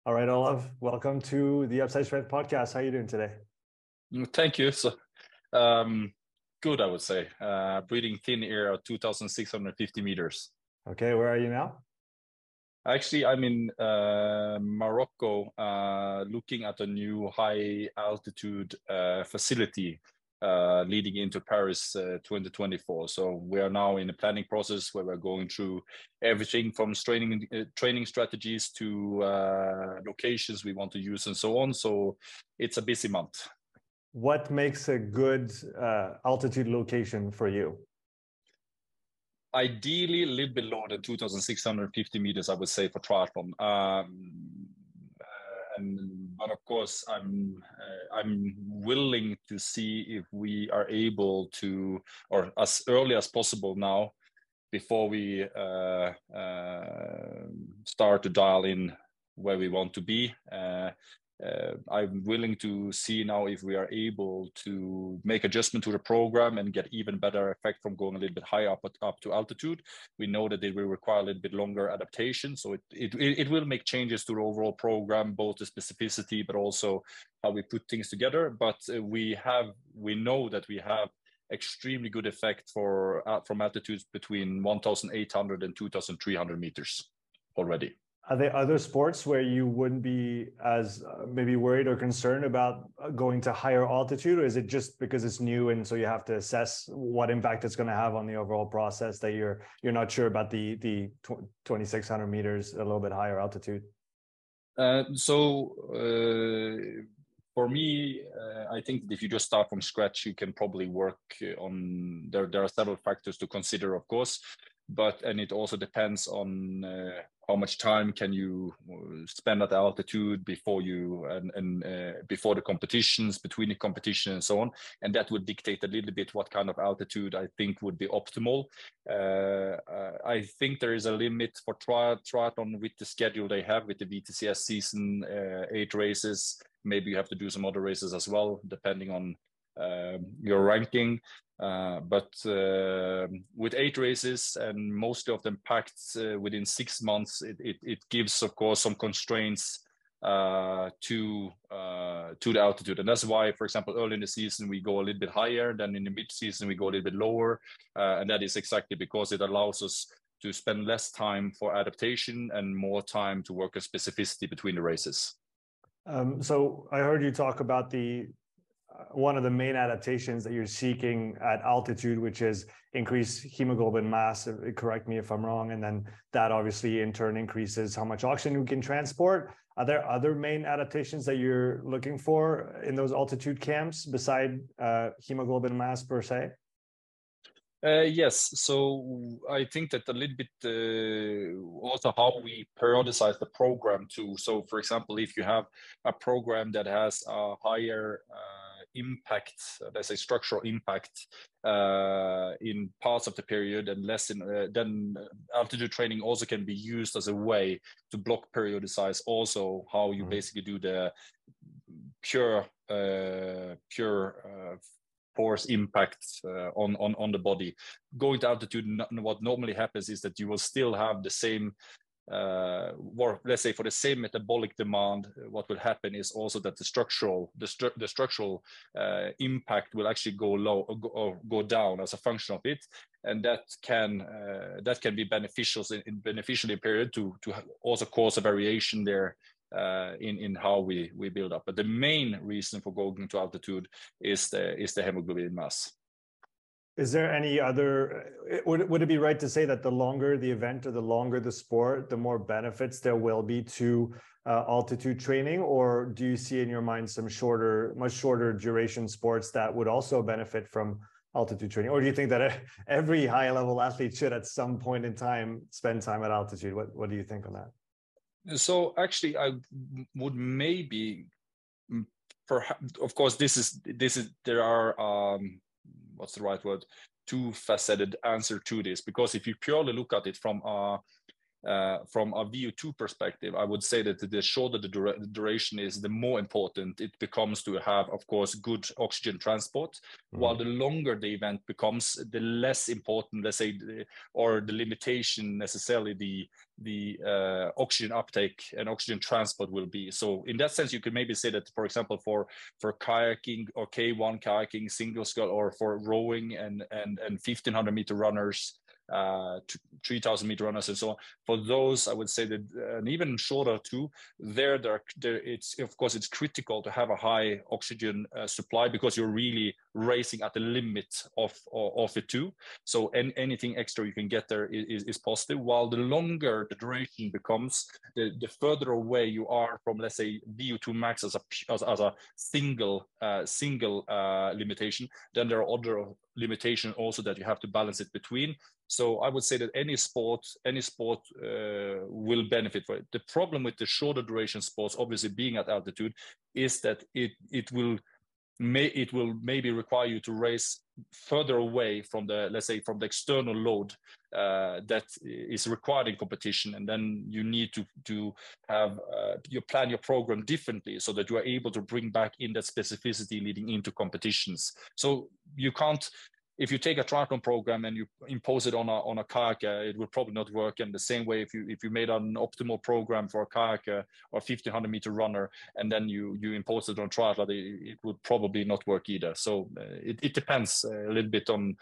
All right, Olaf, welcome to the Upside Strength podcast. How are you doing today? Thank you. Um, Good, I would say. Breathing thin air at 2,650 meters. Okay, where are you now? Actually, I'm in Morocco, looking at a new high altitude facility leading into Paris 2024. So we are now in the planning process where we're going through everything from training strategies to locations we want to use and so on. So it's a busy month. What makes a good altitude location for you? Ideally, a little bit lower than 2,650 meters, I would say, for triathlon. But of course, I'm willing to see if we are able to, or as early as possible now, before we start to dial in where we want to be. I'm willing to see now if we are able to make adjustment to the program and get even better effect from going a little bit higher up to altitude. We know that it will require a little bit longer adaptation, so it will make changes to the overall program, both the specificity but also how we put things together. But we know that we have extremely good effect from altitudes between 1,800 and 2,300 meters already. Are there other sports where you wouldn't be as maybe worried or concerned about going to higher altitude, or is it just because it's new and so you have to assess what impact it's going to have on the overall process that you're not sure about the 2,600 meters, a little bit higher altitude? For me, I think that if you just start from scratch, you can probably work on there. There are several factors to consider, of course, and it also depends on how much time can you spend at altitude before before the competitions, between the competition, and so on, and that would dictate a little bit what kind of altitude I think would be optimal. I think there is a limit for triathlon with the schedule they have with the VTCS season, 8 races. Maybe you have to do some other races as well, depending on your ranking. But with 8 races and most of them packed within 6 months, it gives, of course, some constraints to the altitude, and that's why, for example, early in the season we go a little bit higher, then in the mid season we go a little bit lower, and that is exactly because it allows us to spend less time for adaptation and more time to work on specificity between the races. So I heard you talk about the one of the main adaptations that you're seeking at altitude, which is increase hemoglobin mass. Correct me if I'm wrong. And then that obviously in turn increases how much oxygen we can transport. Are there other main adaptations that you're looking for in those altitude camps beside hemoglobin mass per se? Yes, so I think that a little bit also how we periodicize the program too. So, for example, if you have a program that has a higher impact, let's say structural impact in parts of the period and less in, then altitude training also can be used as a way to block periodicize also how you basically do the pure force impact on the body. Going to altitude, what normally happens is that you will still have the same or let's say for the same metabolic demand. What will happen is also that the structural impact will actually go low or go down as a function of it, and that can be beneficial in period to also cause a variation there in how we build up. But the main reason for going to altitude is the hemoglobin mass. Is there any other, would it be right to say that the longer the event or the longer the sport, the more benefits there will be to altitude training? Or do you see in your mind some much shorter duration sports that would also benefit from altitude training? Or do you think that every high level athlete should at some point in time spend time at altitude? What do you think on that? So actually, I would maybe, perhaps, of course, there are what's the right word? Two-faceted answer to this, because if you purely look at it from from a VO2 perspective, I would say that the shorter the duration is, the more important it becomes to have, of course, good oxygen transport. While the longer the event becomes, the less important, let's say, or the limitation necessarily the oxygen uptake and oxygen transport will be. So in that sense, you could maybe say that, for example, for kayaking or K1 kayaking, single scull, or for rowing and 1500-meter runners, 3000-meter runners and so on, for those I would say that, and even shorter too, there it's, of course, it's critical to have a high oxygen supply, because you're really racing at the limit of it too. So anything extra you can get there is positive. While the longer the duration becomes, the further away you are from, let's say, VO2 max as a single limitation, then there are other limitations also that you have to balance it between. So I would say that any sport will benefit for it. The problem with the shorter duration sports, obviously being at altitude, is that it will maybe require you to race further away from the, let's say, from the external load that is required in competition, and then you need to have you plan your program differently so that you are able to bring back in that specificity leading into competitions. So you can't, if you take a triathlon program and you impose it on a kayaker, it will probably not work. And the same way, if you made an optimal program for a kayaker or 1500-meter runner, and then you impose it on triathlon, it would probably not work either. So it depends a little bit on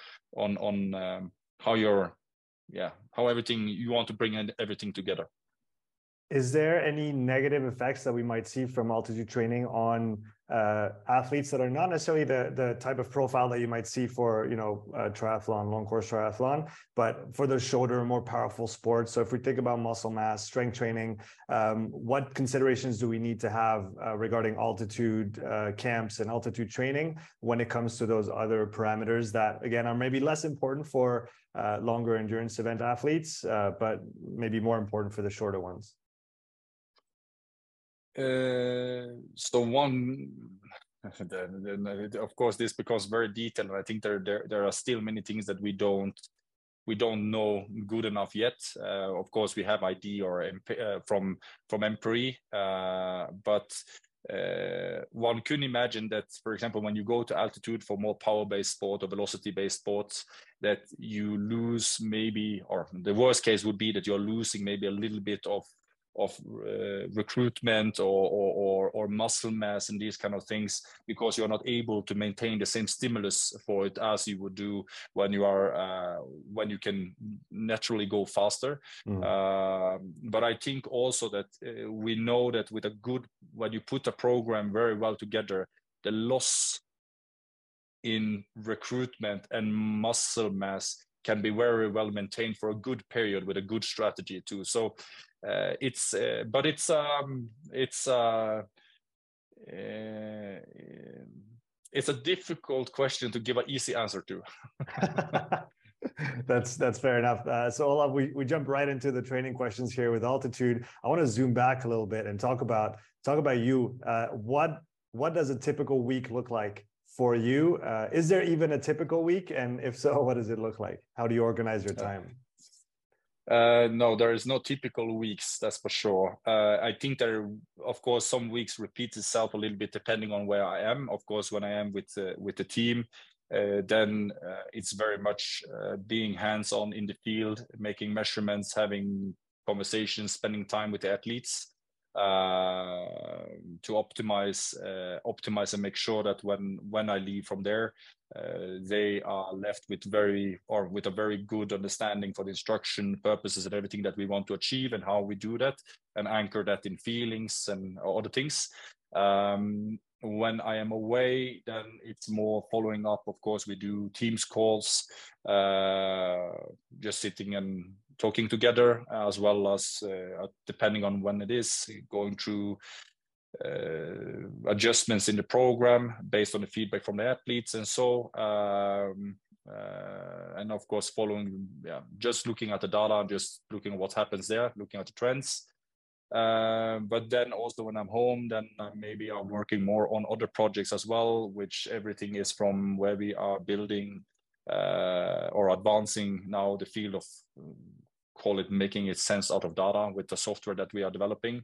how everything you want to bring everything together. Is there any negative effects that we might see from altitude training on athletes that are not necessarily the type of profile that you might see for, triathlon, long course triathlon, but for the shorter, more powerful sports? So if we think about muscle mass, strength training, what considerations do we need to have regarding altitude camps and altitude training when it comes to those other parameters that, again, are maybe less important for longer endurance event athletes, but maybe more important for the shorter ones? So one, of course, this becomes very detailed, and I think there are still many things that we don't know good enough yet. Of course, we have ID or from EMPRI, but one could imagine that, for example, when you go to altitude for more power-based sport or velocity-based sports, that you lose maybe, or the worst case would be that you're losing maybe a little bit of recruitment or muscle mass and these kind of things, because you're not able to maintain the same stimulus for it as you would do when you can naturally go faster. But I think also that we know that when you put a program very well together, the loss in recruitment and muscle mass can be very well maintained for a good period with a good strategy too. So it's a difficult question to give an easy answer to. That's fair enough. So Olav, we jump right into the training questions here with altitude. I want to zoom back a little bit and talk about you. What does a typical week look like for you? Is there even a typical week? And if so, what does it look like? How do you organize your time? No, there is no typical weeks, that's for sure. I think there, of course, some weeks repeat itself a little bit depending on where I am. Of course, when I am with the team, then it's very much being hands-on in the field, making measurements, having conversations, spending time with the athletes to optimize and make sure that when I leave from there, they are left with a very good understanding for the instruction purposes and everything that we want to achieve and how we do that, and anchor that in feelings and other things. When I am away, then it's more following up. Of course, we do Teams calls, just sitting and talking together, as well as depending on when it is, going through adjustments in the program based on the feedback from the athletes, and so and of course just looking at the data, just looking at what happens there, looking at the trends. But then also when I'm home, then maybe I'm working more on other projects as well, which everything is from where we are building or advancing now the field of call it making it sense out of data with the software that we are developing.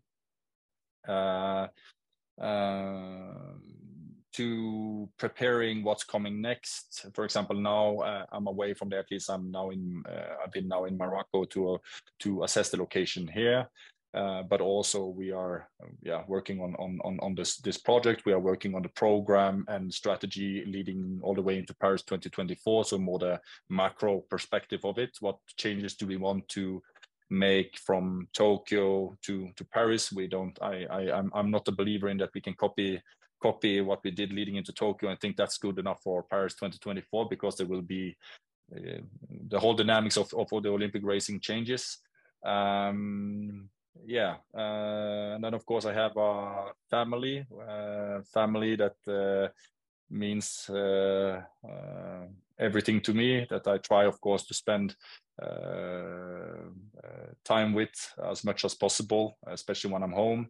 To preparing what's coming next. For example, now I'm away from the athletes. I've been now in Morocco to assess the location here. But also we are working on this project. We are working on the program and strategy leading all the way into Paris 2024. So more the macro perspective of it. What changes do we want to make from Tokyo to Paris? I'm not a believer in that we can copy what we did leading into Tokyo. I think that's good enough for Paris 2024 because there will be the whole dynamics of the Olympic racing changes. And then of course I have a family that means everything to me, that I try of course to spend time with as much as possible, especially when I'm home.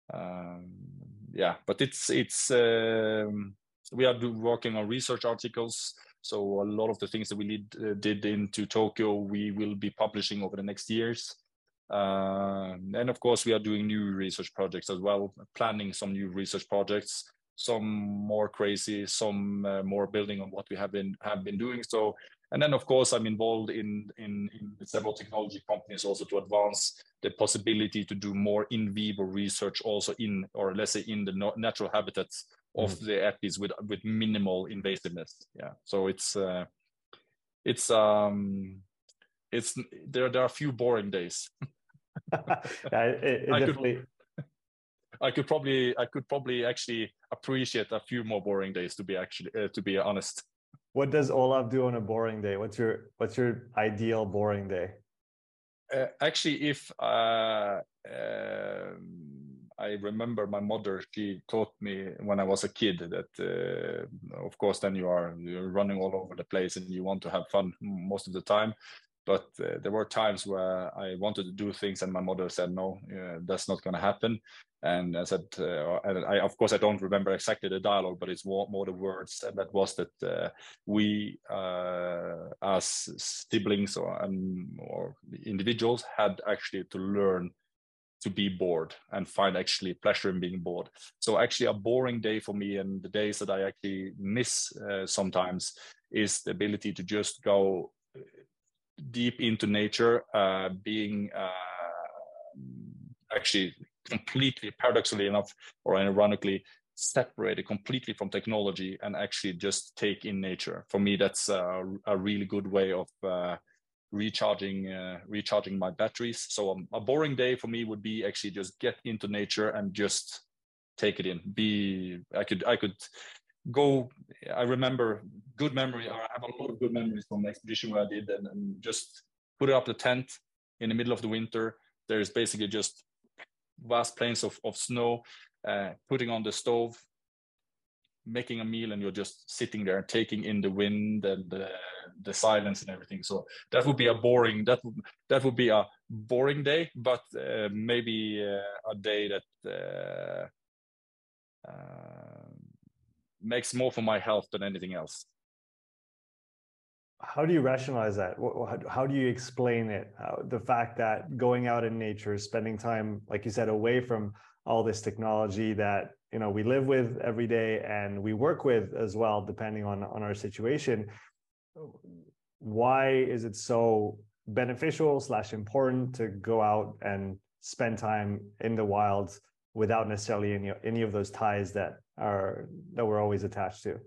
But we are working on research articles. So a lot of the things that we did into Tokyo, we will be publishing over the next years. And of course, we are doing new research projects as well, planning some new research projects, some more crazy, some more building on what we have been doing. So, and then of course, I'm involved in several technology companies also to advance the possibility to do more in vivo research also in, or let's say in the natural habitats of the athletes with minimal invasiveness. Yeah. So there are a few boring days. I could probably actually appreciate a few more boring days to be honest. What does Olav do on a boring day? What's your ideal boring day? Actually, if I remember my mother, she taught me when I was a kid that, of course, then you're running all over the place and you want to have fun most of the time. But there were times where I wanted to do things and my mother said, no, that's not going to happen. And I said, of course, I don't remember exactly the dialogue, but it's more the words. And that was that we, as siblings or individuals, had actually to learn to be bored and find actually pleasure in being bored. So actually a boring day for me, and the days that I actually miss sometimes, is the ability to just go deep into nature, being actually completely, paradoxically enough, or ironically, separated completely from technology and actually just take in nature. For me, that's a really good way of recharging my batteries. So a boring day for me would be actually just get into nature and just take it in. I could go. I remember good memory. I have a lot of good memories from the expedition where I did, and just put up the tent in the middle of the winter. There is basically just vast plains of snow, putting on the stove, making a meal, and you're just sitting there taking in the wind and the silence and everything. So that would be a boring day, but maybe a day that makes more for my health than anything else. How do you rationalize that? How do you explain it? The fact that going out in nature, spending time, like you said, away from all this technology that we live with every day and we work with as well, depending on our situation. Why is it so beneficial / important to go out and spend time in the wilds without necessarily any of those ties that we're always attached to?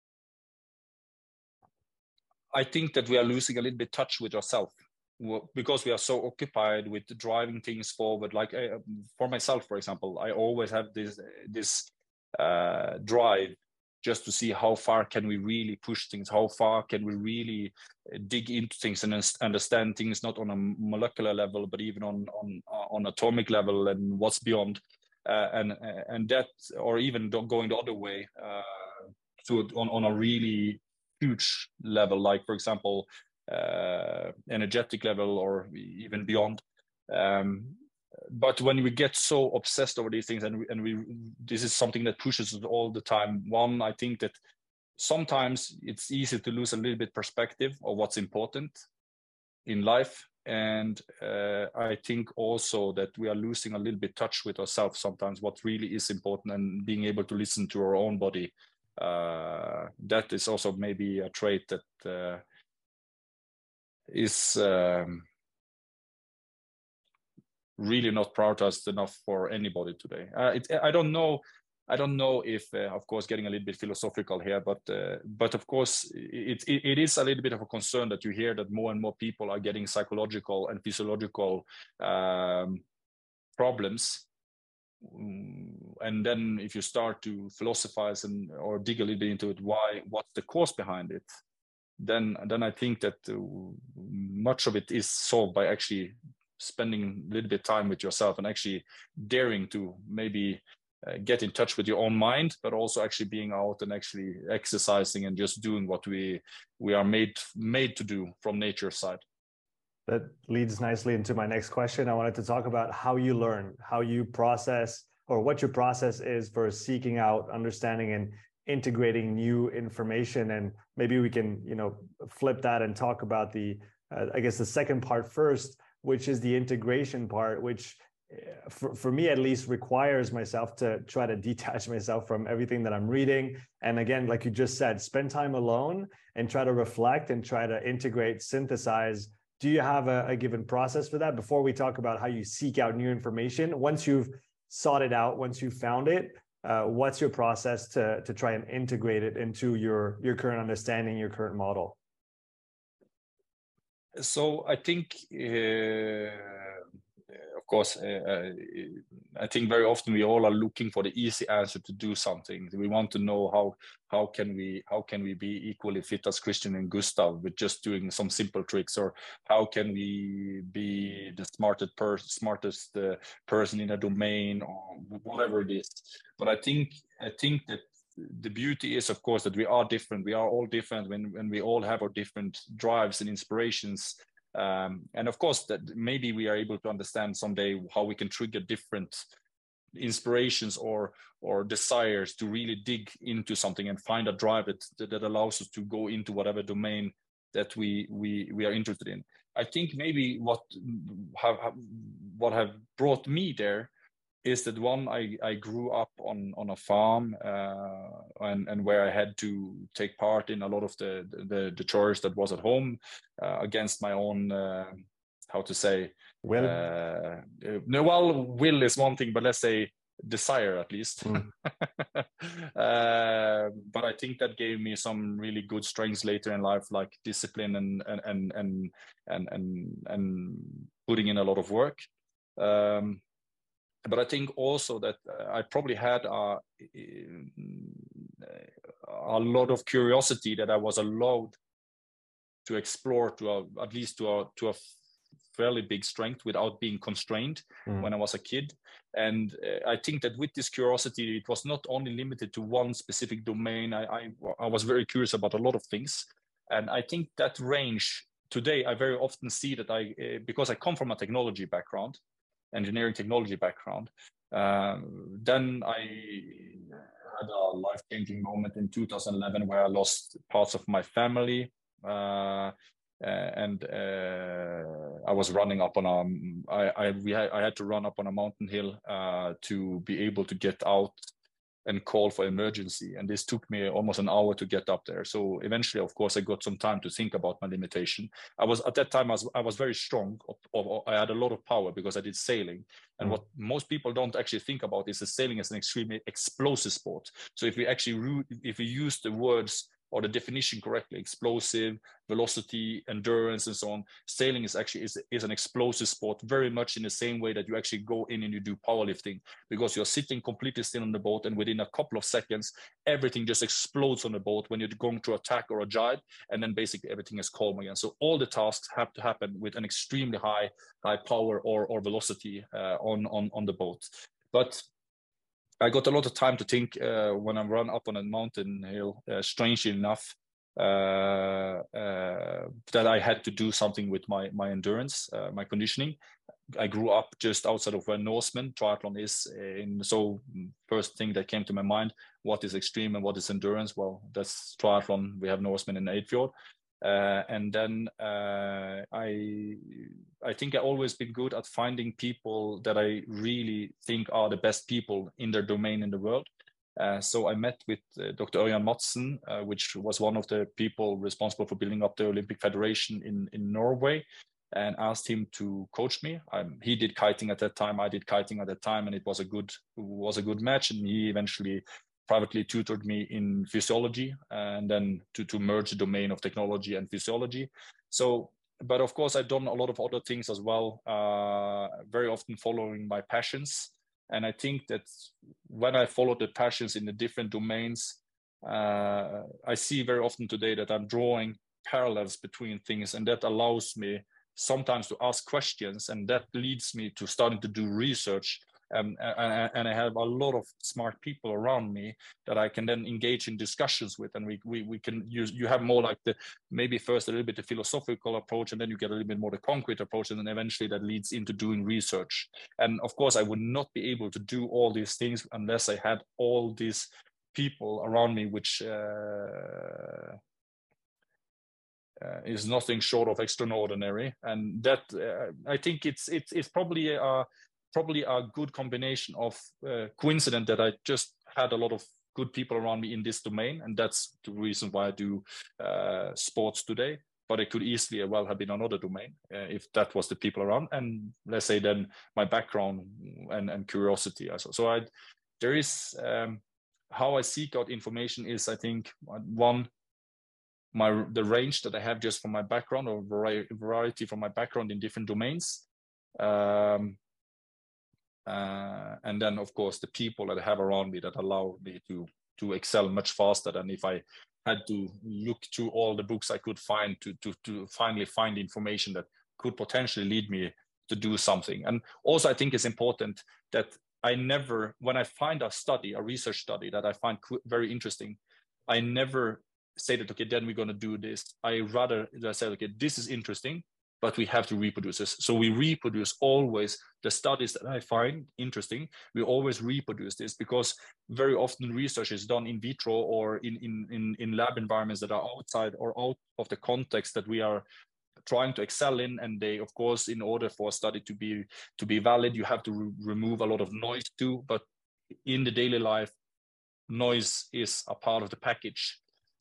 I think that we are losing a little bit touch with ourselves because we are so occupied with driving things forward. Like for myself, for example, I always have this drive just to see how far can we really push things, how far can we really dig into things and understand things, not on a molecular level, but even on atomic level and what's beyond. And that, or even going the other way, on a really huge level, like for example, energetic level or even beyond. But when we get so obsessed over these things, and this is something that pushes us all the time. One, I think that sometimes it's easy to lose a little bit perspective of what's important in life, And I think also that we are losing a little bit touch with ourselves sometimes, what really is important, and being able to listen to our own body. That is also maybe a trait that is really not prioritized enough for anybody today. I don't know. I don't know if, of course, getting a little bit philosophical here, but of course, it is a little bit of a concern that you hear that more and more people are getting psychological and physiological problems. And then if you start to philosophize or dig a little bit into it, what's the cause behind it? Then I think that much of it is solved by actually spending a little bit of time with yourself and actually daring to maybe get in touch with your own mind, but also actually being out and actually exercising and just doing what we are made to do from nature's side. That leads nicely into my next question. I wanted to talk about how you learn, how you process, or what your process is for seeking out, understanding, and integrating new information. And maybe we can, flip that and talk about I guess the second part first, which is the integration part, which for me at least requires myself to try to detach myself from everything that I'm reading. And again, like you just said, spend time alone and try to reflect and try to integrate, synthesize. Do you have a given process for that before we talk about how you seek out new information? Once you've sought it out, once you've found it, what's your process to try and integrate it into your current understanding, your current model? So I think, of course, I think very often we all are looking for the easy answer to do something. We want to know how can we be equally fit as Christian and Gustav with just doing some simple tricks, or how can we be the smartest person in a domain, or whatever it is. But I think that the beauty is, of course, that we are different. We are all different when we all have our different drives and inspirations. And of course, that maybe we are able to understand someday how we can trigger different inspirations or desires to really dig into something and find a drive that allows us to go into whatever domain that we are interested in. I think maybe what have brought me there is that one, I grew up on a farm, and where I had to take part in a lot of the chores that was at home, against my own, how to say, will. No, well, will is one thing, but let's say desire at least. But I think that gave me some really good strengths later in life, like discipline and putting in a lot of work. But I think also that I probably had a lot of curiosity that I was allowed to explore at least to a fairly big strength without being constrained when I was a kid. And I think that with this curiosity, it was not only limited to one specific domain. I was very curious about a lot of things. And I think that range today, I very often see that because I come from a technology background, engineering technology background, then I had a life-changing moment in 2011 where I lost parts of my family, and I was running up on I had to run up on a mountain hill to be able to get out and call for emergency, and this took me almost an hour to get up there. So eventually, of course, I got some time to think about my limitation. At that time I was very strong. I had a lot of power because I did sailing, and what most people don't actually think about is that sailing is an extremely explosive sport. So if we use the words or the definition correctly, explosive, velocity, endurance, and so on, sailing is actually is an explosive sport, very much in the same way that you actually go in and you do powerlifting, because you're sitting completely still on the boat, and within a couple of seconds, everything just explodes on the boat when you're going to attack or a jibe, and then basically everything is calm again. So all the tasks have to happen with an extremely high power or velocity on the boat. But I got a lot of time to think when I run up on a mountain hill, strangely enough, that I had to do something with my endurance, my conditioning. I grew up just outside of where Norseman triathlon is. So first thing that came to my mind, what is extreme and what is endurance? Well, that's triathlon. We have Norseman in Eidfjord. And then I think I've always been good at finding people that I really think are the best people in their domain in the world. So I met with Dr. Ørjan Madsen, which was one of the people responsible for building up the Olympic Federation in Norway, and asked him to coach me. He did kiting at that time, I did kiting at that time, and it was a good match. And he eventually privately tutored me in physiology, and then to merge the domain of technology and physiology. So, but of course, I've done a lot of other things as well, very often following my passions. And I think that when I follow the passions in the different domains, I see very often today that I'm drawing parallels between things, and that allows me sometimes to ask questions, and that leads me to starting to do research. And I have a lot of smart people around me that I can then engage in discussions with, and we can use. You have more like maybe first a little bit the philosophical approach, and then you get a little bit more the concrete approach, and then eventually that leads into doing research. And of course, I would not be able to do all these things unless I had all these people around me, which is nothing short of extraordinary. And that I think it's probably a good combination of coincidence that I just had a lot of good people around me in this domain, and that's the reason why I do sports today. But it could easily well have been another domain if that was the people around, and let's say then my background and curiosity also. So there is how I seek out information is, I think, one, the range that I have just from my background, or variety from my background in different domains. And then, of course, the people that I have around me that allow me to excel much faster than if I had to look through all the books I could find to finally find information that could potentially lead me to do something. And also, I think it's important that I never, when I find a research study that I find very interesting, I never say that, okay, then we're going to do this. I rather say, okay, this is interesting, but we have to reproduce this. So we reproduce always the studies that I find interesting. We always reproduce this, because very often research is done in vitro or in lab environments that are outside or out of the context that we are trying to excel in. And they, of course, in order for a study to be valid, you have to remove a lot of noise too. But in the daily life, noise is a part of the package.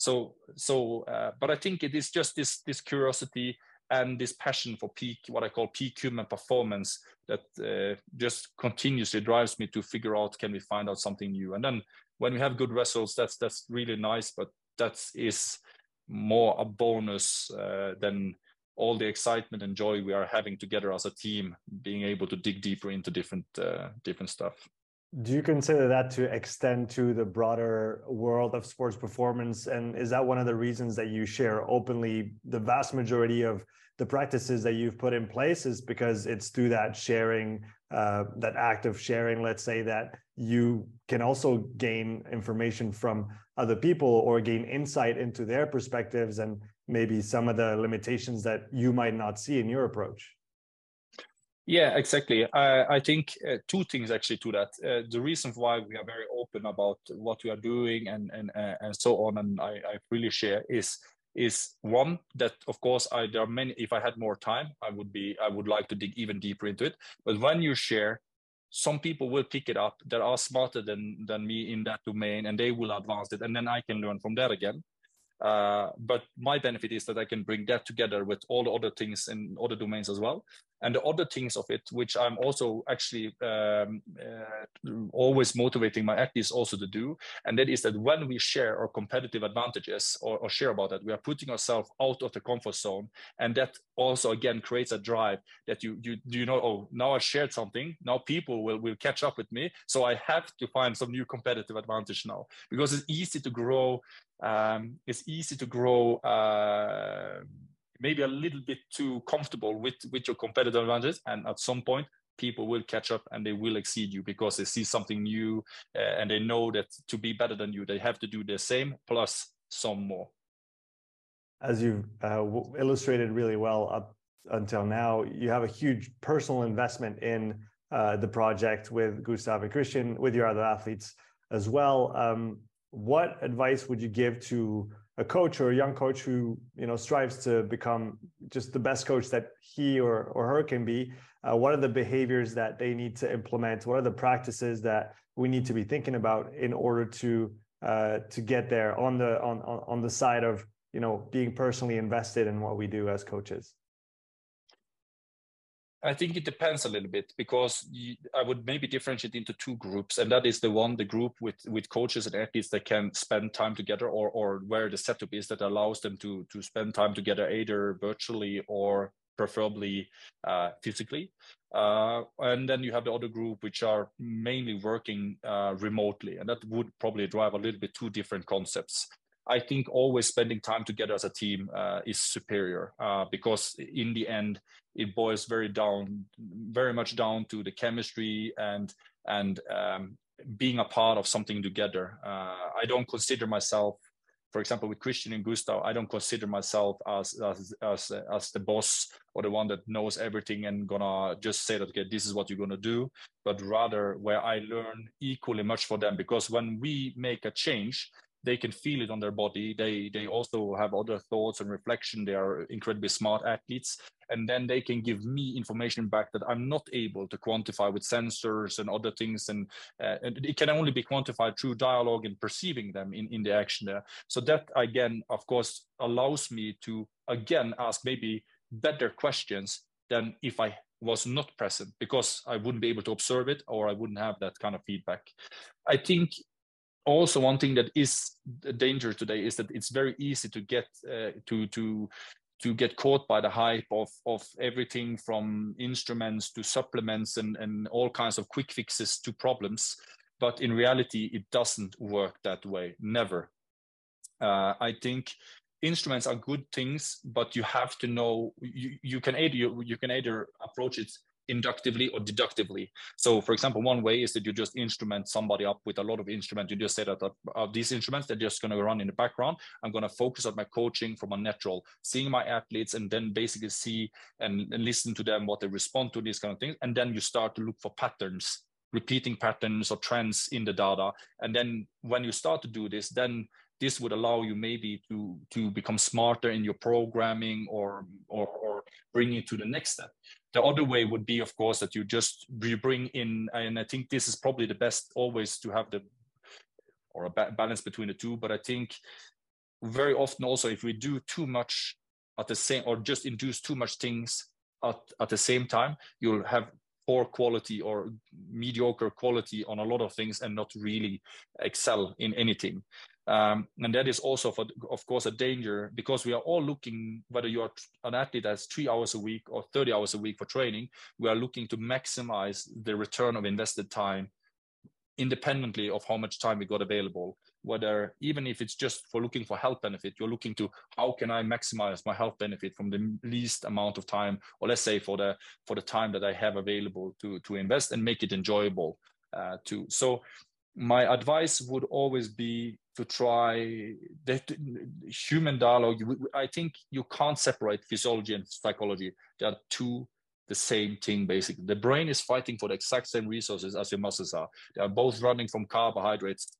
But I think it is just this curiosity and this passion for what I call peak human performance that just continuously drives me to figure out, can we find out something new? And then when we have good results, that's really nice, but that is more a bonus than all the excitement and joy we are having together as a team, being able to dig deeper into different stuff. Do you consider that to extend to the broader world of sports performance? And is that one of the reasons that you share openly the vast majority of the practices that you've put in place, is because it's through that sharing, that act of sharing, let's say, that you can also gain information from other people or gain insight into their perspectives and maybe some of the limitations that you might not see in your approach? Yeah, exactly. I think two things actually to that. The reason why we are very open about what we are doing and so on, and I really share is one, that of course there are many. If I had more time, I would like to dig even deeper into it. But when you share, some people will pick it up that are smarter than me in that domain, and they will advance it, and then I can learn from that again. But my benefit is that I can bring that together with all the other things in other domains as well. And the other things of it, which I'm also actually always motivating my athletes also to do, and that is that when we share our competitive advantages or share about that, we are putting ourselves out of the comfort zone. And that also, again, creates a drive that you know, oh, now I shared something, now people will catch up with me. So I have to find some new competitive advantage now, because it's easy to grow. Maybe a little bit too comfortable with your competitive advantage, and at some point people will catch up and they will exceed you because they see something new and they know that to be better than you, they have to do the same plus some more. As you've illustrated really well up until now, you have a huge personal investment in the project with Gustav and Christian, with your other athletes as well. What advice would you give to a coach or a young coach who, you know, strives to become just the best coach that he or her can be, what are the behaviors that they need to implement? What are the practices that we need to be thinking about in order to get there on the side of, you know, being personally invested in what we do as coaches? I think it depends a little bit, because I would maybe differentiate into two groups, and that is the group with coaches and athletes that can spend time together, or where the setup is that allows them to spend time together, either virtually or preferably physically. And then you have the other group which are mainly working remotely, and that would probably drive a little bit two different concepts. I think always spending time together as a team is superior, because in the end, it boils very much down to the chemistry and being a part of something together. I don't consider myself, for example, with Christian and Gustav, I don't consider myself as the boss or the one that knows everything and gonna just say that, okay, this is what you're gonna do, but rather where I learn equally much for them, because when we make a change, they can feel it on their body. They also have other thoughts and reflection. They are incredibly smart athletes. And then they can give me information back that I'm not able to quantify with sensors and other things. And it can only be quantified through dialogue and perceiving them in the action there. So that, again, of course, allows me to, again, ask maybe better questions than if I was not present, because I wouldn't be able to observe it, or I wouldn't have that kind of feedback. I think also one thing that is a danger today is that it's very easy to get to get caught by the hype of everything from instruments to supplements and all kinds of quick fixes to problems. But in reality, it doesn't work that way. Never. I think instruments are good things, but you have to know you can either approach it inductively or deductively. So, for example, one way is that you just instrument somebody up with a lot of instruments. You just say that these instruments, they're just going to run in the background. I'm going to focus on my coaching from a natural, seeing my athletes, and then basically see and listen to them, what they respond to, these kind of things. And then you start to look for patterns, repeating patterns or trends in the data. And then when you start to do this, then this would allow you maybe to become smarter in your programming or bring it to the next step. The other way would be, of course, that you bring in, and I think this is probably the best always to have a balance between the two. But I think very often also, if we do too much at the same, or just induce too much things at the same time, you'll have poor quality or mediocre quality on a lot of things and not really excel in anything. And that is also, of course, a danger, because we are all looking, whether you are an athlete that's 3 hours a week or 30 hours a week for training, we are looking to maximize the return of invested time independently of how much time we got available. Whether, even if it's just for looking for health benefit, you're looking to how can I maximize my health benefit from the least amount of time, or let's say for the time that I have available to invest, and make it enjoyable too. So my advice would always be to try the human dialogue. I think you can't separate physiology and psychology. They are two the same thing, basically. The brain is fighting for the exact same resources as your muscles are. They are both running from carbohydrates,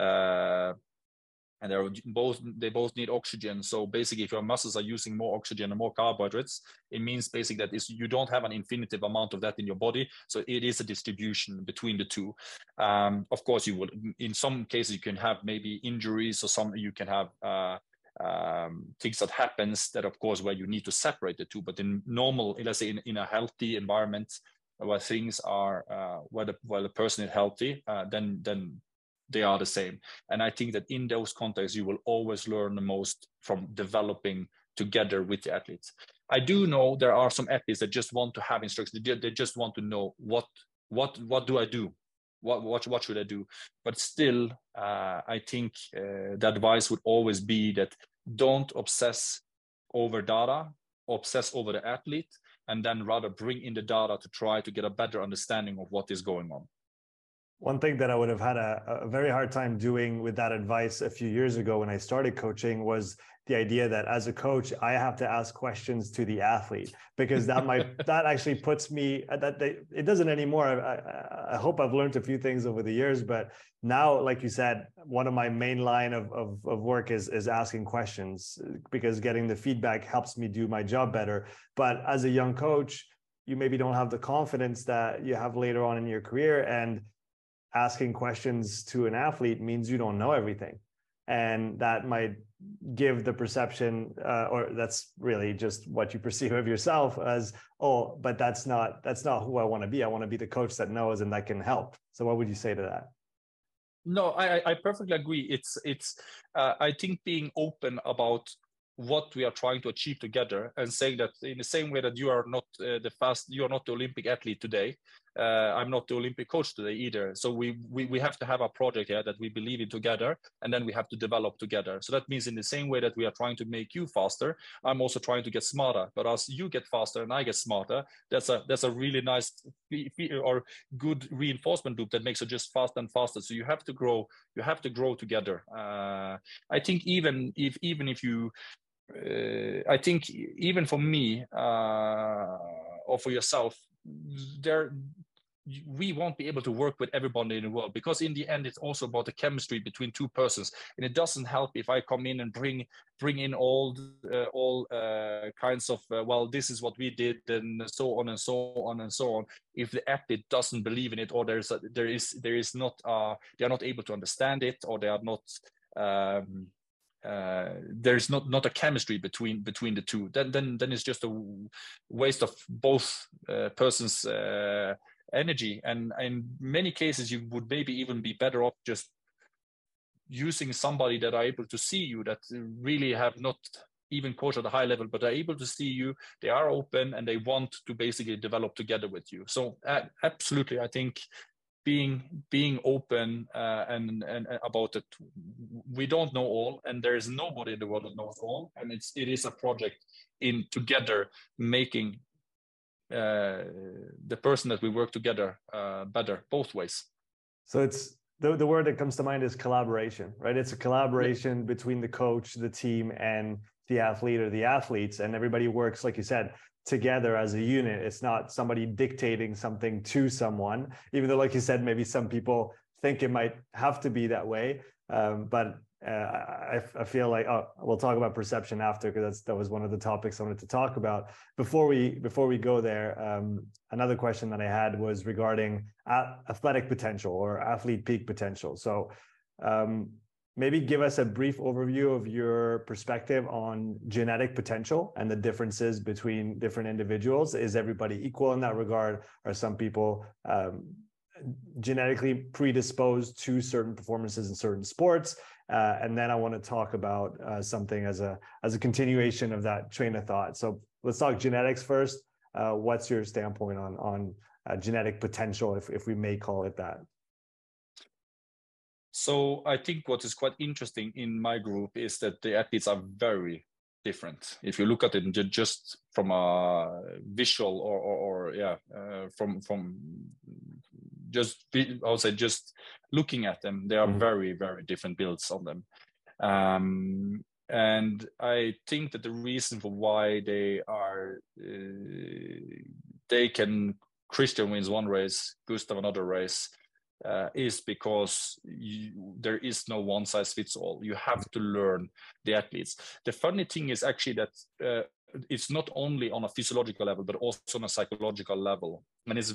and they both need oxygen. So basically, if your muscles are using more oxygen and more carbohydrates, it means basically that you don't have an infinitive amount of that in your body. So it is a distribution between the two. Of course, you would, in some cases, you can have maybe injuries, or you can have things that happens that, of course, where you need to separate the two. But in normal, let's say in a healthy environment where things are where the person is healthy, then they are the same. And I think that in those contexts, you will always learn the most from developing together with the athletes. I do know there are some athletes that just want to have instructions. They just want to know what do I do? What should I do? But still, I think the advice would always be that don't obsess over data, obsess over the athlete, and then rather bring in the data to try to get a better understanding of what is going on. One thing that I would have had a very hard time doing with that advice a few years ago when I started coaching was the idea that as a coach, I have to ask questions to the athlete, because that actually puts me it doesn't anymore. I hope I've learned a few things over the years, but now, like you said, one of my main line of work is asking questions, because getting the feedback helps me do my job better. But as a young coach, you maybe don't have the confidence that you have later on in your career, and asking questions to an athlete means you don't know everything, and that might give the perception or that's really just what you perceive of yourself as, oh, but that's not who I want to be. I want to be the coach that knows and that can help. So what would you say to that? No, I perfectly agree. It's I think being open about what we are trying to achieve together, and saying that in the same way that you are not you are not the Olympic athlete today, I'm not the Olympic coach today either. So we have to have a project here that we believe in together, and then we have to develop together. So that means in the same way that we are trying to make you faster, I'm also trying to get smarter. But as you get faster and I get smarter, that's a really nice or good reinforcement loop that makes it just faster and faster. So you have to grow. You have to grow together. I think even if you I think even for me or for yourself, we won't be able to work with everybody in the world, because in the end it's also about the chemistry between two persons, and it doesn't help if I come in and bring in all kinds of well, this is what we did, and so on and so on and so on. If the athlete doesn't believe in it, or there is not they are not able to understand it, or they are not there's not a chemistry between the two, then it's just a waste of both persons' energy. And in many cases, you would maybe even be better off just using somebody that are able to see you, that really have not even coached at a high level, but are able to see you. They are open and they want to basically develop together with you. So absolutely, I think being open and about it. We don't know all, and there is nobody in the world that knows all, and it is a project in together making the person that we work together better both ways. So it's the word that comes to mind is collaboration, right? It's a collaboration between the coach, the team, and the athlete or the athletes, and everybody works, like you said, together as a unit. It's not somebody dictating something to someone, even though, like you said, maybe some people think it might have to be that way. But I feel like, we'll talk about perception after, because that was one of the topics I wanted to talk about. Before we go there, another question that I had was regarding athletic potential or athlete peak potential. So maybe give us a brief overview of your perspective on genetic potential and the differences between different individuals. Is everybody equal in that regard? Are some people genetically predisposed to certain performances in certain sports? And then I want to talk about something as a continuation of that train of thought. So let's talk genetics first. What's your standpoint on genetic potential, if we may call it that? So I think what is quite interesting in my group is that the athletes are very different. If you look at it just from a visual from just, I would say, just looking at them, they are very, very different builds on them. And I think that the reason for why Christian wins one race, Gustav another race, is because there is no one size fits all. You have to learn the athletes. The funny thing is actually that it's not only on a physiological level, but also on a psychological level. And it's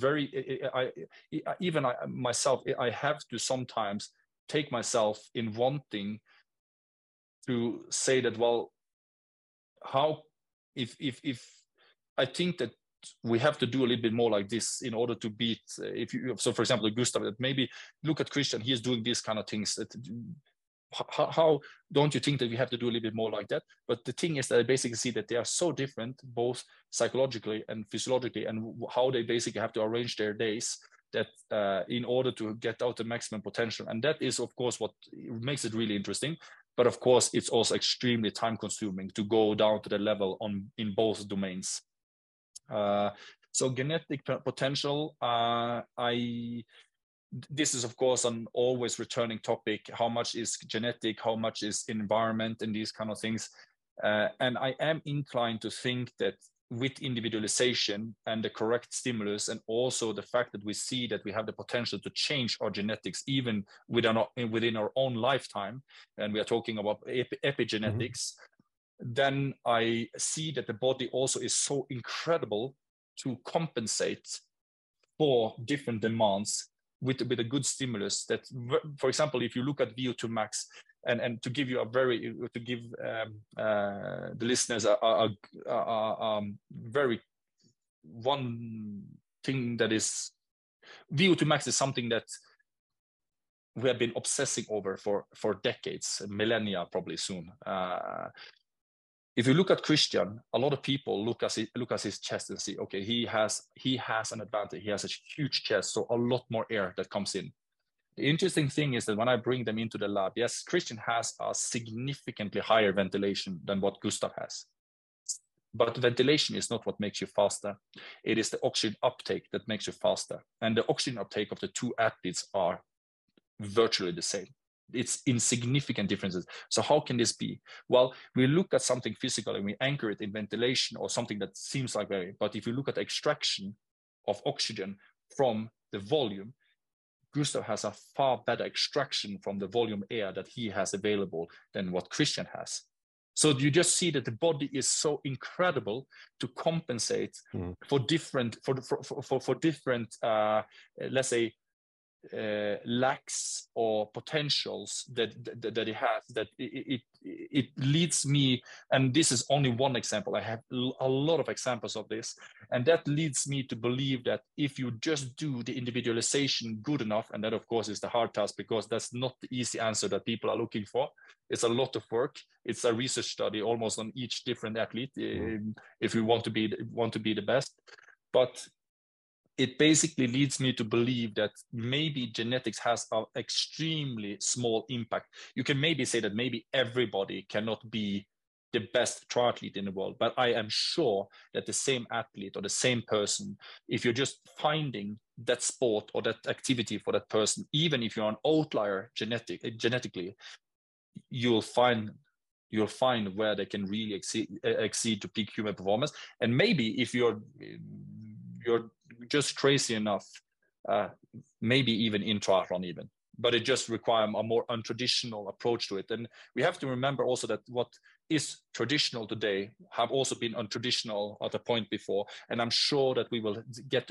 myself, I have to sometimes take myself in wanting to say that, well, how, if I think that we have to do a little bit more like this in order to beat, so for example, Gustav, that maybe look at Christian, he is doing these kind of things. That, how don't you think that we have to do a little bit more like that? But the thing is that I basically see that they are so different, both psychologically and physiologically, and how they basically have to arrange their days that in order to get out the maximum potential. And that is, of course, what makes it really interesting. But of course, it's also extremely time consuming to go down to the level in both domains. So genetic potential, this is of course an always returning topic. How much is genetic, how much is environment, and these kind of things. And I am inclined to think that with individualization and the correct stimulus, and also the fact that we see that we have the potential to change our genetics even within our own lifetime, and we are talking about epigenetics, then I see that the body also is so incredible to compensate for different demands with a good stimulus. That, for example, if you look at VO2 max, and to give you the listeners a very one thing, that is, VO2 max is something that we have been obsessing over for decades, millennia, probably soon. If you look at Christian, a lot of people look at his chest and see, okay, he has an advantage. He has a huge chest, so a lot more air that comes in. The interesting thing is that when I bring them into the lab, yes, Christian has a significantly higher ventilation than what Gustav has. But ventilation is not what makes you faster. It is the oxygen uptake that makes you faster. And the oxygen uptake of the two athletes are virtually the same. It's insignificant differences. So how can this be? Well, we look at something physical and we anchor it in ventilation or something that seems like very, but if you look at extraction of oxygen from the volume, Gustav has a far better extraction from the volume air that he has available than what Christian has. So you just see that the body is so incredible to compensate for different, for different, let's say, lacks or potentials that it has, that it leads me, and this is only one example, I have a lot of examples of this, and that leads me to believe that if you just do the individualization good enough, and that of course is the hard task, because that's not the easy answer that people are looking for. It's a lot of work. It's a research study almost on each different athlete if you want to be the best. But it basically leads me to believe that maybe genetics has an extremely small impact. You can maybe say that maybe everybody cannot be the best triathlete in the world, but I am sure that the same athlete or the same person, if you're just finding that sport or that activity for that person, even if you're an outlier genetically, you'll find where they can really exceed to peak human performance. And maybe if you're just crazy enough, maybe even in triathlon even, but it just requires a more untraditional approach to it. And we have to remember also that what is traditional today have also been untraditional at a point before. And I'm sure that we will get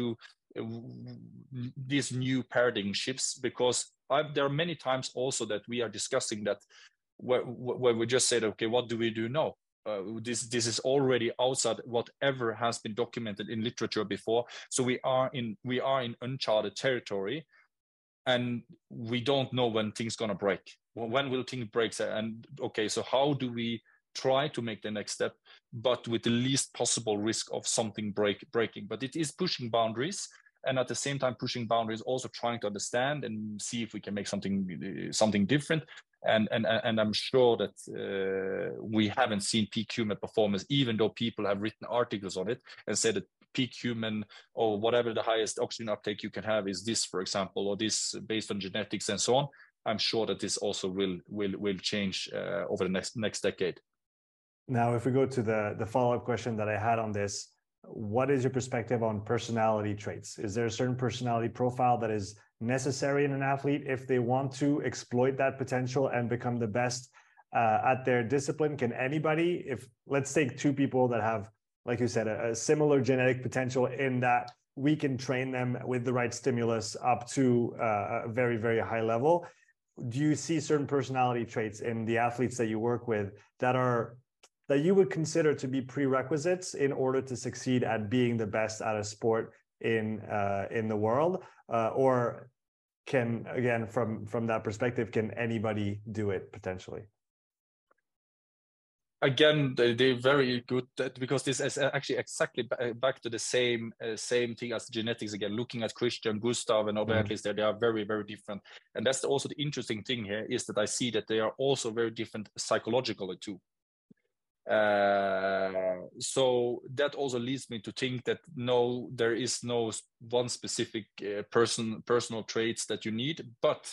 these new paradigm shifts, because there are many times also that we are discussing that where we just said, okay, what do we do now? This is already outside whatever has been documented in literature before. So we are in uncharted territory, and we don't know when things gonna break. When will things break? And okay, so how do we try to make the next step, but with the least possible risk of something breaking? But it is pushing boundaries, and at the same time pushing boundaries, also trying to understand and see if we can make something different. And I'm sure that we haven't seen peak human performance, even though people have written articles on it and said that peak human, or whatever the highest oxygen uptake you can have is this, for example, or this based on genetics and so on. I'm sure that this also will change over the next decade. Now, if we go to the follow-up question that I had on this, what is your perspective on personality traits? Is there a certain personality profile that is necessary in an athlete if they want to exploit that potential and become the best at their discipline? Can anybody, if let's take two people that have, like you said, a similar genetic potential, in that we can train them with the right stimulus up to a very, very high level, do you see certain personality traits in the athletes that you work with that you would consider to be prerequisites in order to succeed at being the best at a sport in the world? Or can, again, from that perspective, can anybody do it potentially? Again, they're very good, because this is actually exactly back to the same thing as genetics. Again, looking at Christian, Gustav, and other athletes, they are very, very different. And that's also the interesting thing here, is that I see that they are also very different psychologically too. So that also leads me to think that no, there is no one specific personal traits that you need, but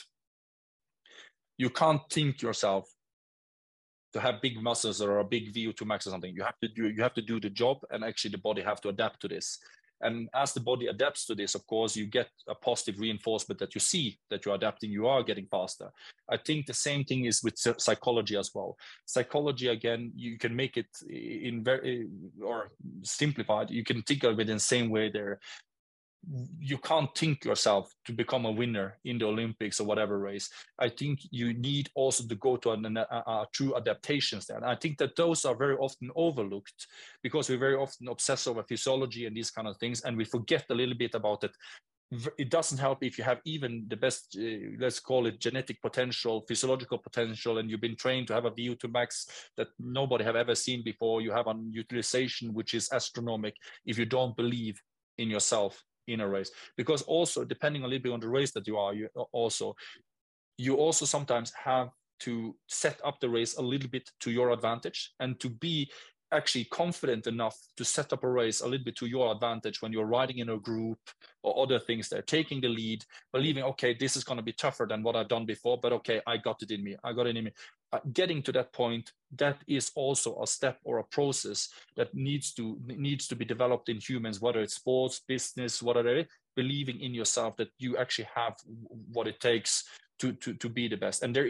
you can't think yourself to have big muscles or a big VO2 max or something. You have to do the job, and actually the body have to adapt to this. And as the body adapts to this, of course, you get a positive reinforcement that you see that you're adapting, you are getting faster. I think the same thing is with psychology as well. Psychology, again, you can make it in very, or simplified, you can think of it in the same way there. You can't think yourself to become a winner in the Olympics or whatever race. I think you need also to go to a true adaptations there. And I think that those are very often overlooked because we very often obsess over physiology and these kind of things, and we forget a little bit about it. It doesn't help if you have even the best, let's call it genetic potential, physiological potential, and you've been trained to have a VO2 max that nobody have ever seen before. You have a utilization which is astronomical if you don't believe in yourself in a race. Because also, depending a little bit on the race that you are, you also sometimes have to set up the race a little bit to your advantage, and to be actually confident enough to set up a race a little bit to your advantage when you're riding in a group or other things. They're taking the lead, believing, okay, this is going to be tougher than what I've done before, but okay, I got it in me. Getting to that point, that is also a step or a process that needs to be developed in humans, whether it's sports, business, whatever. Believing in yourself that you actually have what it takes to be the best. And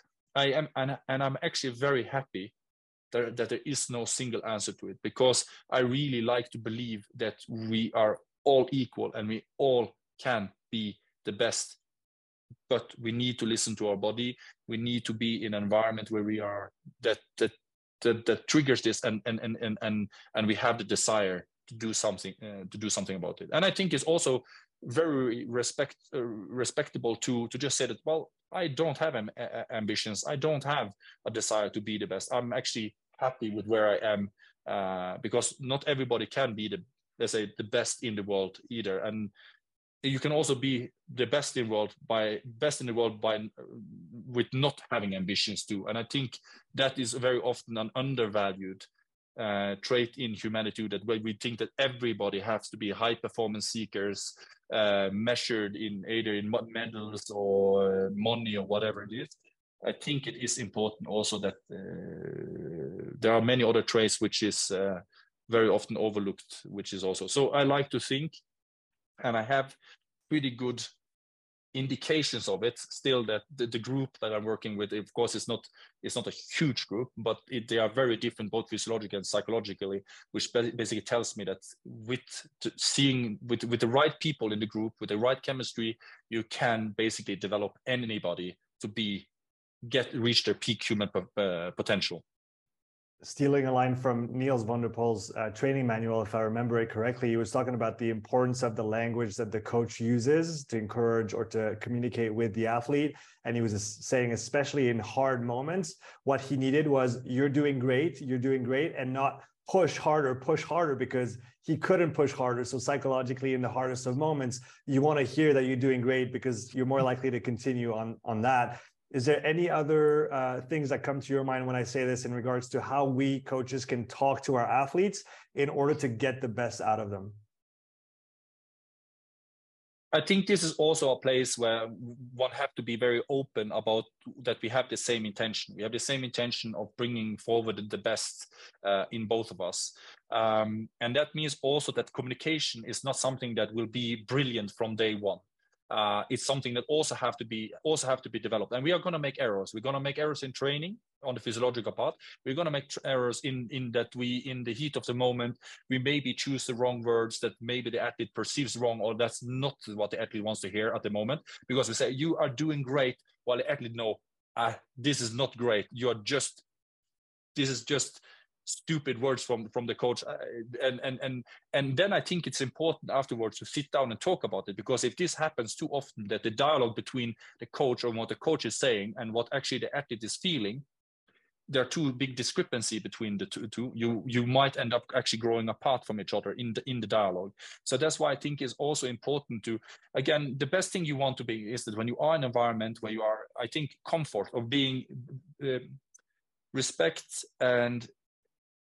I'm actually very happy that there is no single answer to it, because I really like to believe that we are all equal and we all can be the best. But we need to listen to our body. We need to be in an environment where we are that triggers this, and we have the desire to do something about it. And I think it's also very respectable to just say that, well, I don't have ambitions. I don't have a desire to be the best. I'm actually happy with where I am, because not everybody can be the best in the world either. And you can also be the best in the world with not having ambitions too. And I think that is very often an undervalued trait in humanity, that we think that everybody has to be high performance seekers, measured in either in medals or money or whatever it is. I think it is important also that there are many other traits which is very often overlooked, which is also. So I like to think, and I have pretty good indications of it still, that the group that I'm working with, of course, it's not a huge group, but they are very different, both physiologically and psychologically, which basically tells me that with the right people in the group, with the right chemistry, you can basically develop anybody to reach their peak human potential. Stealing a line from Niels van der Poel's training manual, if I remember it correctly, he was talking about the importance of the language that the coach uses to encourage or to communicate with the athlete. And he was saying, especially in hard moments, what he needed was, you're doing great, and not push harder, because he couldn't push harder. So psychologically, in the hardest of moments, you want to hear that you're doing great, because you're more likely to continue on that. Is there any other things that come to your mind when I say this in regards to how we coaches can talk to our athletes in order to get the best out of them? I think this is also a place where one have to be very open about that we have the same intention. We have the same intention of bringing forward the best in both of us. And that means also that communication is not something that will be brilliant from day one. It's something that also have to be developed, and we are going to make errors. We're going to make errors in training on the physiological part. We're going to make errors in that we, in the heat of the moment, we maybe choose the wrong words that maybe the athlete perceives wrong, or that's not what the athlete wants to hear at the moment, because we say you are doing great, while the athlete this is not great. This is just stupid words from the coach, and then I think it's important afterwards to sit down and talk about it, because if this happens too often, that the dialogue between the coach or what the coach is saying and what actually the athlete is feeling, there are too big discrepancy between the two. You might end up actually growing apart from each other in the dialogue. So that's why I think it's also important to, again, the best thing you want to be is that when you are in an environment where you are, I think, comfort of being respect and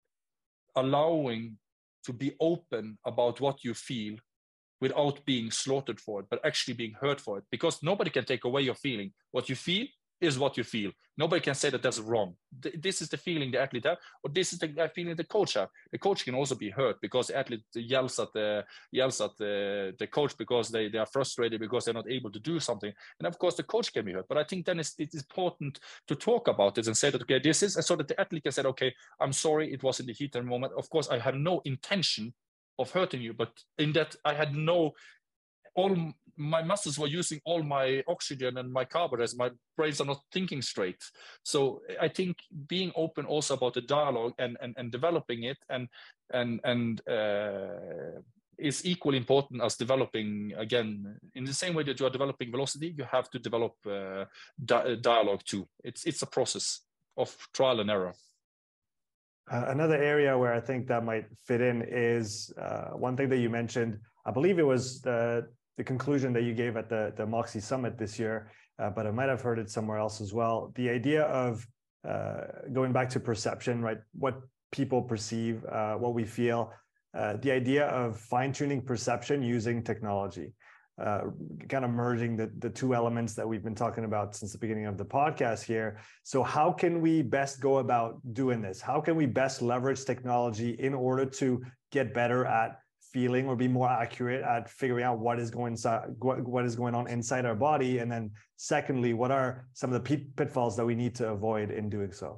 allowing to be open about what you feel without being slaughtered for it, but actually being hurt for it, because nobody can take away your feeling. What you feel is what you feel. Nobody can say that that's wrong. This is the feeling the athlete have, or this is the feeling the coach have. The coach can also be hurt because the athlete yells at the coach because they are frustrated because they're not able to do something. And of course, the coach can be hurt. But I think then it's important to talk about it and say that, okay, this is, so that the athlete can say, okay, I'm sorry, it was in the heat of the moment. Of course, I had no intention of hurting you, but in that I had all my muscles were using all my oxygen and my carbohydrates. My brains are not thinking straight. So I think being open also about the dialogue and developing it and is equally important as developing, again, in the same way that you are developing velocity, you have to develop dialogue too. It's a process of trial and error. Another area where I think that might fit in is one thing that you mentioned. I believe it was the conclusion that you gave at the Moxy Summit this year, but I might have heard it somewhere else as well. The idea of going back to perception, right? What people perceive, what we feel, the idea of fine-tuning perception using technology. Kind of merging the two elements that we've been talking about since the beginning of the podcast here. So how can we best go about doing this? How can we best leverage technology in order to get better at feeling or be more accurate at figuring out what is going on inside our body? And then secondly, what are some of the pitfalls that we need to avoid in doing so?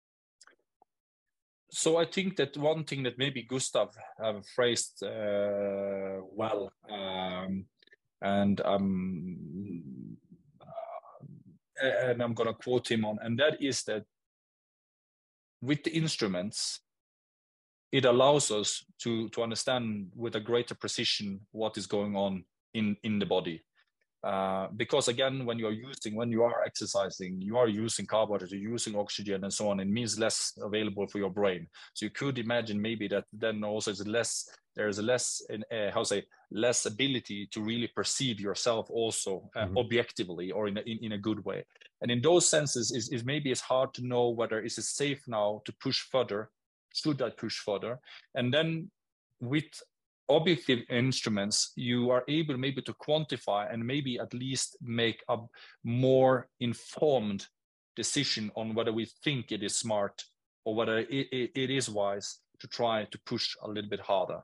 So I think that one thing that maybe Gustav have phrased well, and I'm going to quote him on, and that is that with the instruments, it allows us to understand with a greater precision what is going on in the body. Because again, when you are exercising, you are using carbohydrates, you're using oxygen and so on. It means less available for your brain. So you could imagine maybe that then also there's less ability to really perceive yourself also objectively or in a good way. And in those senses, is maybe it's hard to know whether is it safe now to push further. Should I push further? And then with objective instruments, you are able maybe to quantify and maybe at least make a more informed decision on whether we think it is smart or whether it is wise to try to push a little bit harder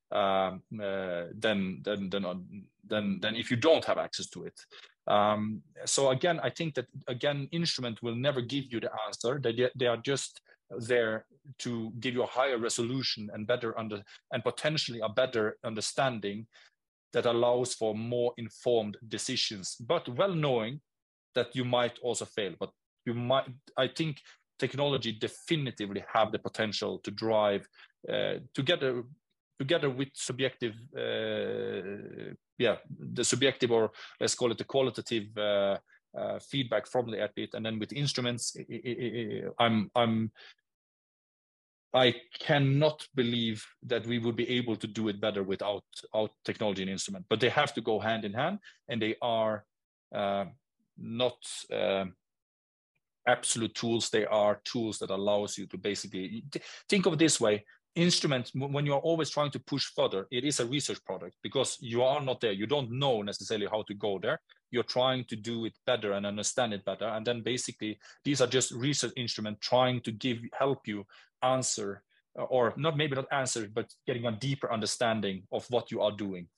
than if you don't have access to it. So again, I think that instrument will never give you the answer. They are just there to give you a higher resolution and and potentially a better understanding that allows for more informed decisions, but well knowing that you might also fail. But I think technology definitively have the potential to drive together with subjective, the subjective, or let's call it the qualitative feedback from the athlete, and then with instruments, I cannot believe that we would be able to do it better without technology and instrument. But they have to go hand in hand, and they are not absolute tools. They are tools that allows you to basically think of it this way. Instruments, when you are always trying to push further, it is a research product because you are not there. You don't know necessarily how to go there. You're trying to do it better and understand it better. And then basically, these are just research instruments trying to help you answer, or not answer, but getting a deeper understanding of what you are doing.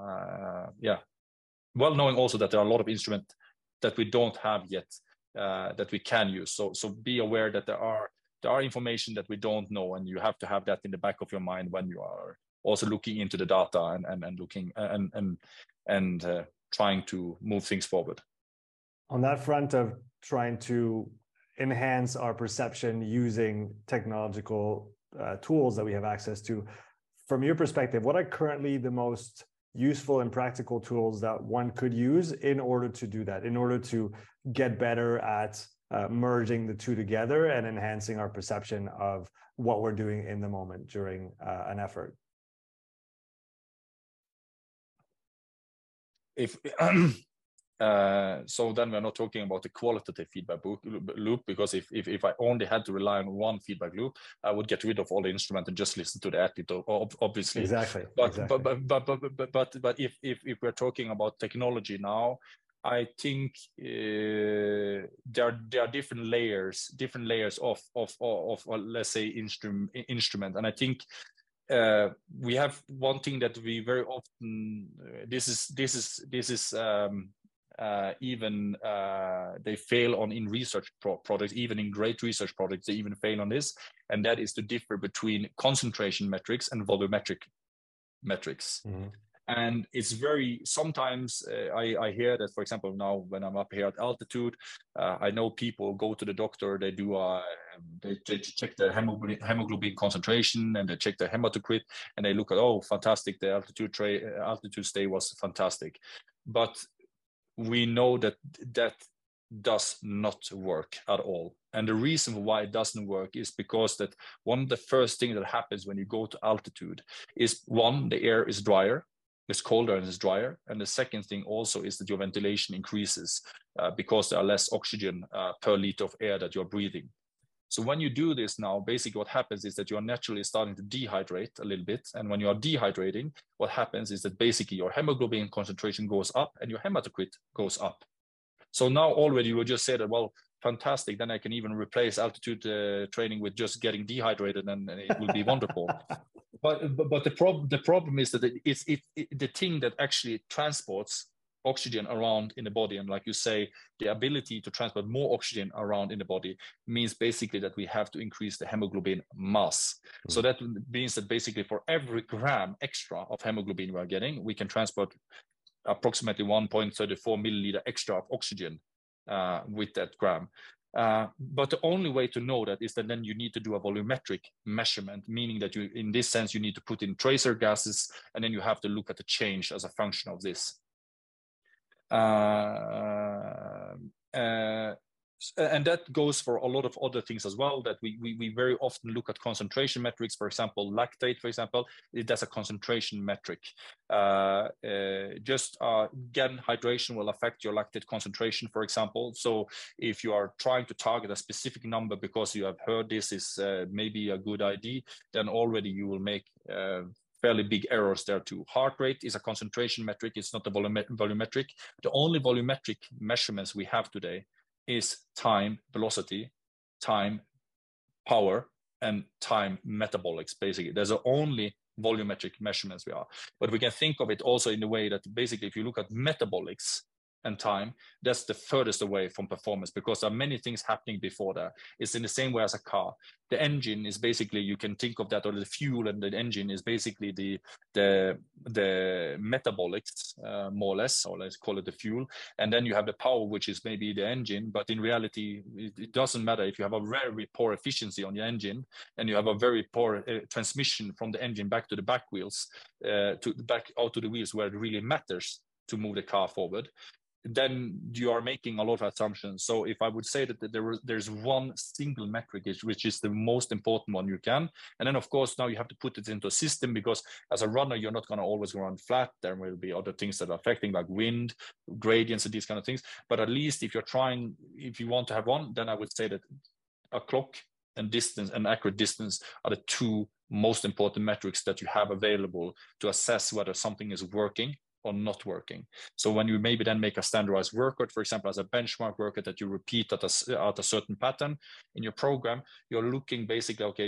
Well knowing also that there are a lot of instruments that we don't have yet that we can use. So be aware that there are information that we don't know, and you have to have that in the back of your mind when you are also looking into the data and looking and trying to move things forward. On that front of trying to enhance our perception using technological tools that we have access to, from your perspective, what are currently the most useful and practical tools that one could use in order to do that, in order to get better at merging the two together and enhancing our perception of what we're doing in the moment during an effort? If So then we're not talking about the qualitative feedback loop, because if I only had to rely on one feedback loop, I would get rid of all the instrument and just listen to the athlete, obviously. Exactly. But exactly. but if we're talking about technology now, I think there are different layers of let's say instrument, and I think we have one thing that we very often this is even they fail on in research products, even in great research products, they even fail on this, and that is to differ between concentration metrics and volumetric metrics. Mm-hmm. And it's very sometimes I hear that, for example, now when I'm up here at altitude, I know people go to the doctor, they do they check the hemoglobin concentration, and they check the hematocrit, and they look at, oh, fantastic, the altitude stay was fantastic. But we know that that does not work at all. And the reason why it doesn't work is because that one of the first things that happens when you go to altitude is, one, the air is drier, it's colder and it's drier. And the second thing also is that your ventilation increases because there are less oxygen per liter of air that you're breathing. So when you do this now, basically what happens is that you're naturally starting to dehydrate a little bit. And when you are dehydrating, what happens is that basically your hemoglobin concentration goes up and your hematocrit goes up. So now already you will just say that, well, fantastic, then I can even replace altitude training with just getting dehydrated, and it will be wonderful. But the problem is that it's the thing that actually transports oxygen around in the body, and like you say, the ability to transport more oxygen around in the body means basically that we have to increase the hemoglobin mass. Mm-hmm. So that means that basically for every gram extra of hemoglobin we are getting, we can transport approximately 1.34 milliliter extra of oxygen with that gram. But the only way to know that is that then you need to do a volumetric measurement, meaning that you, in this sense, you need to put in tracer gases, and then you have to look at the change as a function of this. And that goes for a lot of other things as well, that we very often look at concentration metrics. For example, lactate, for example, that's a concentration metric. Again, hydration will affect your lactate concentration, for example. So if you are trying to target a specific number because you have heard this is maybe a good idea, then already you will make fairly big errors there too. Heart rate is a concentration metric. It's not a volumetric. The only volumetric measurements we have today is time velocity, time power, and time metabolics, basically. There's the only volumetric measurements we are. But we can think of it also in the way that basically if you look at metabolics and time, that's the furthest away from performance, because there are many things happening before that. It's in the same way as a car. The engine is basically, you can think of that, or the fuel and the engine is basically the metabolics, more or less, or let's call it the fuel. And then you have the power, which is maybe the engine, but in reality, it doesn't matter if you have a very poor efficiency on your engine and you have a very poor transmission from the engine back to the back wheels, back out to the wheels where it really matters to move the car forward. Then you are making a lot of assumptions. So if I would say that there's one single metric which is the most important one you can, and then of course now you have to put it into a system, because as a runner you're not going to always run flat. There will be other things that are affecting, like wind, gradients, and these kind of things. But at least if you want to have one, then I would say that a clock and distance and accurate distance are the two most important metrics that you have available to assess whether something is working or not working. So when you maybe then make a standardized workout, for example, as a benchmark workout that you repeat at a certain pattern in your program, you're looking basically, okay,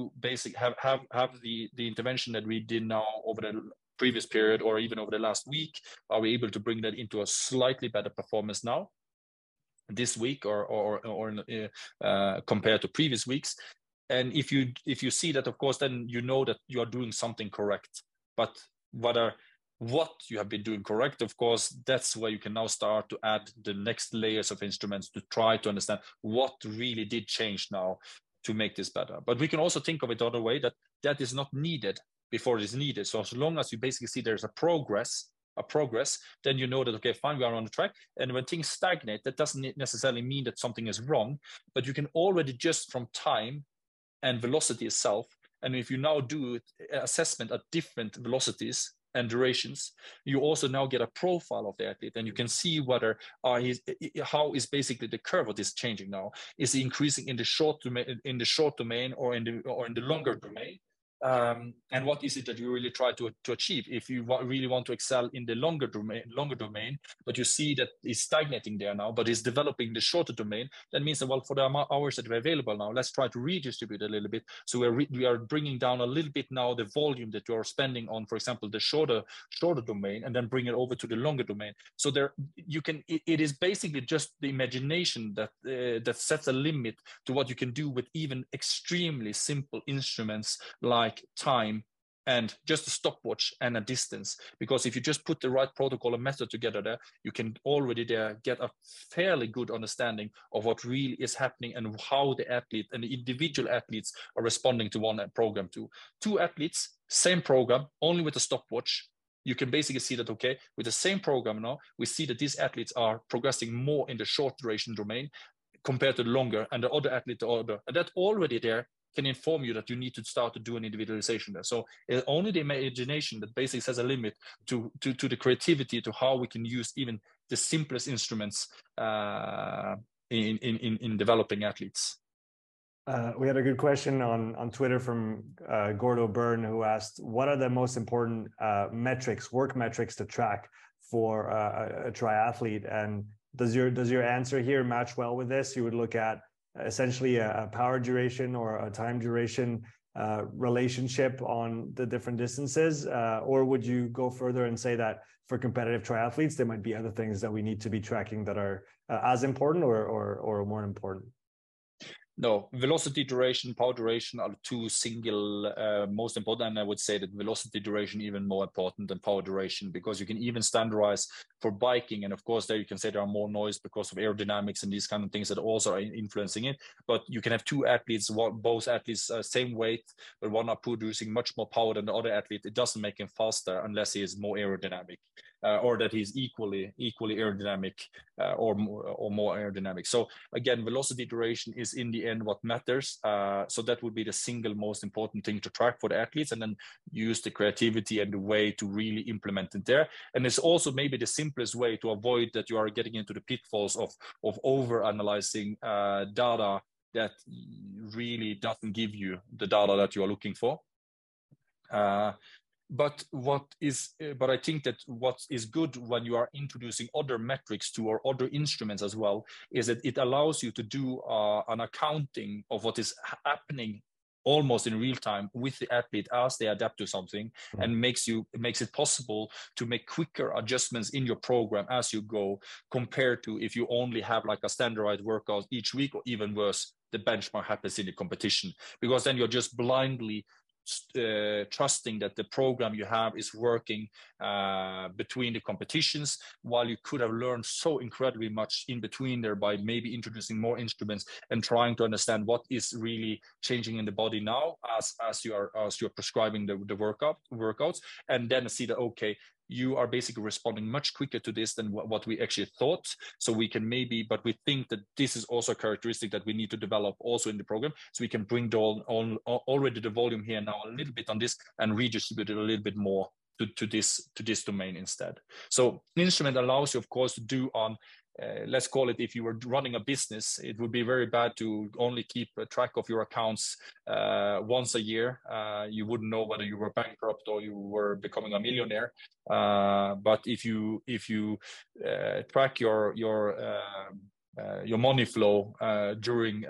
have the intervention that we did now over the previous period or even over the last week, are we able to bring that into a slightly better performance now, this week, or compared to previous weeks? And if you see that, of course, then you know that you are doing something correct. But what you have been doing correct, of course, that's where you can now start to add the next layers of instruments to try to understand what really did change now to make this better. But we can also think of it the other way, that is not needed before it is needed. So as long as you basically see there's a progress, then you know that, okay, fine, we are on the track. And when things stagnate, that doesn't necessarily mean that something is wrong, but you can already just from time and velocity itself. And if you now do assessment at different velocities, and durations. You also now get a profile of the athlete, and you can see whether how is basically the curve of this changing now. Is it increasing in the short domain, or in the longer domain? And what is it that you really try to achieve? If you really want to excel in the longer domain, but you see that it's stagnating there now, but it's developing the shorter domain, that means that, well, for the hours that are available now, let's try to redistribute a little bit. So we are bringing down a little bit now the volume that you are spending on, for example, the shorter domain, and then bring it over to the longer domain. So there you can. It is basically just the imagination that sets a limit to what you can do with even extremely simple instruments like time and just a stopwatch and a distance. Because if you just put the right protocol and method together there, you can already there get a fairly good understanding of what really is happening and how the athlete and the individual athletes are responding to one program. To two athletes, same program, only with a stopwatch, you can basically see that, okay, with the same program now, we see that these athletes are progressing more in the short duration domain compared to the longer, and the other athlete, and that already there can inform you that you need to start to do an individualization there. So it's only the imagination that basically has a limit to the creativity, to how we can use even the simplest instruments in developing athletes. We had a good question on Twitter from Gordo Byrne, who asked, what are the most important work metrics to track for a triathlete? And does your answer here match well with this? You would look at essentially a power duration or a time duration relationship on the different distances, or would you go further and say that for competitive triathletes there might be other things that we need to be tracking that are as important or more important? No, velocity duration, power duration are the two single most important, and I would say that velocity duration even more important than power duration, because you can even standardize for biking, and of course there you can say there are more noise because of aerodynamics and these kind of things that also are influencing it. But you can have two athletes, both athletes same weight, but one are producing much more power than the other athlete. It doesn't make him faster unless he is more aerodynamic. Or that he's equally aerodynamic or more aerodynamic. So again, velocity duration is in the end what matters. So that would be the single most important thing to track for the athletes, and then use the creativity and the way to really implement it there. And it's also maybe the simplest way to avoid that you are getting into the pitfalls of over analyzing data that really doesn't give you the data that you are looking for. But I think that what is good when you are introducing other metrics to or other instruments as well is that it allows you to do an accounting of what is happening almost in real time with the athlete as they adapt to something, and makes it possible to make quicker adjustments in your program as you go, compared to if you only have like a standardized workout each week, or even worse, the benchmark happens in the competition, because then you're just blindly trusting that the program you have is working between the competitions, while you could have learned so incredibly much in between there by maybe introducing more instruments and trying to understand what is really changing in the body now as you're prescribing the workouts, and then see that, okay, you are basically responding much quicker to this than what we actually thought. So we can but we think that this is also a characteristic that we need to develop also in the program. So we can bring already the volume here now a little bit on this and redistribute it a little bit more to this domain instead. So an instrument allows you, of course, to do on let's call it, if you were running a business, it would be very bad to only keep a track of your accounts once a year. You wouldn't know whether you were bankrupt or you were becoming a millionaire. But if you track your money flow during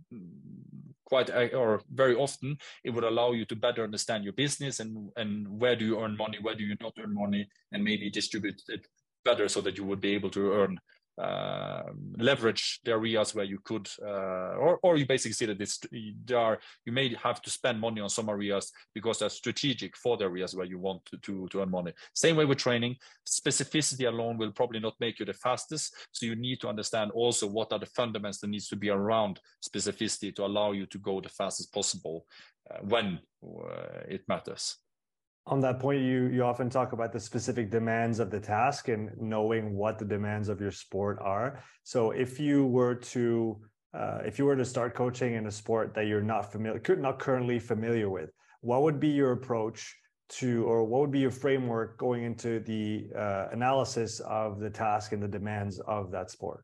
or very often, it would allow you to better understand your business and where do you earn money, where do you not earn money, and maybe distribute it better so that you would be able to earn leverage the areas where you could, or you basically see that you may have to spend money on some areas because they're strategic for the areas where you want to earn money. Same way with training, specificity alone will probably not make you the fastest. So you need to understand also what are the fundamentals that needs to be around specificity to allow you to go the fastest possible when it matters. On that point, you often talk about the specific demands of the task and knowing what the demands of your sport are. So if you were to start coaching in a sport that you're not currently familiar with, what would be your approach to, or what would be your framework going into the analysis of the task and the demands of that sport?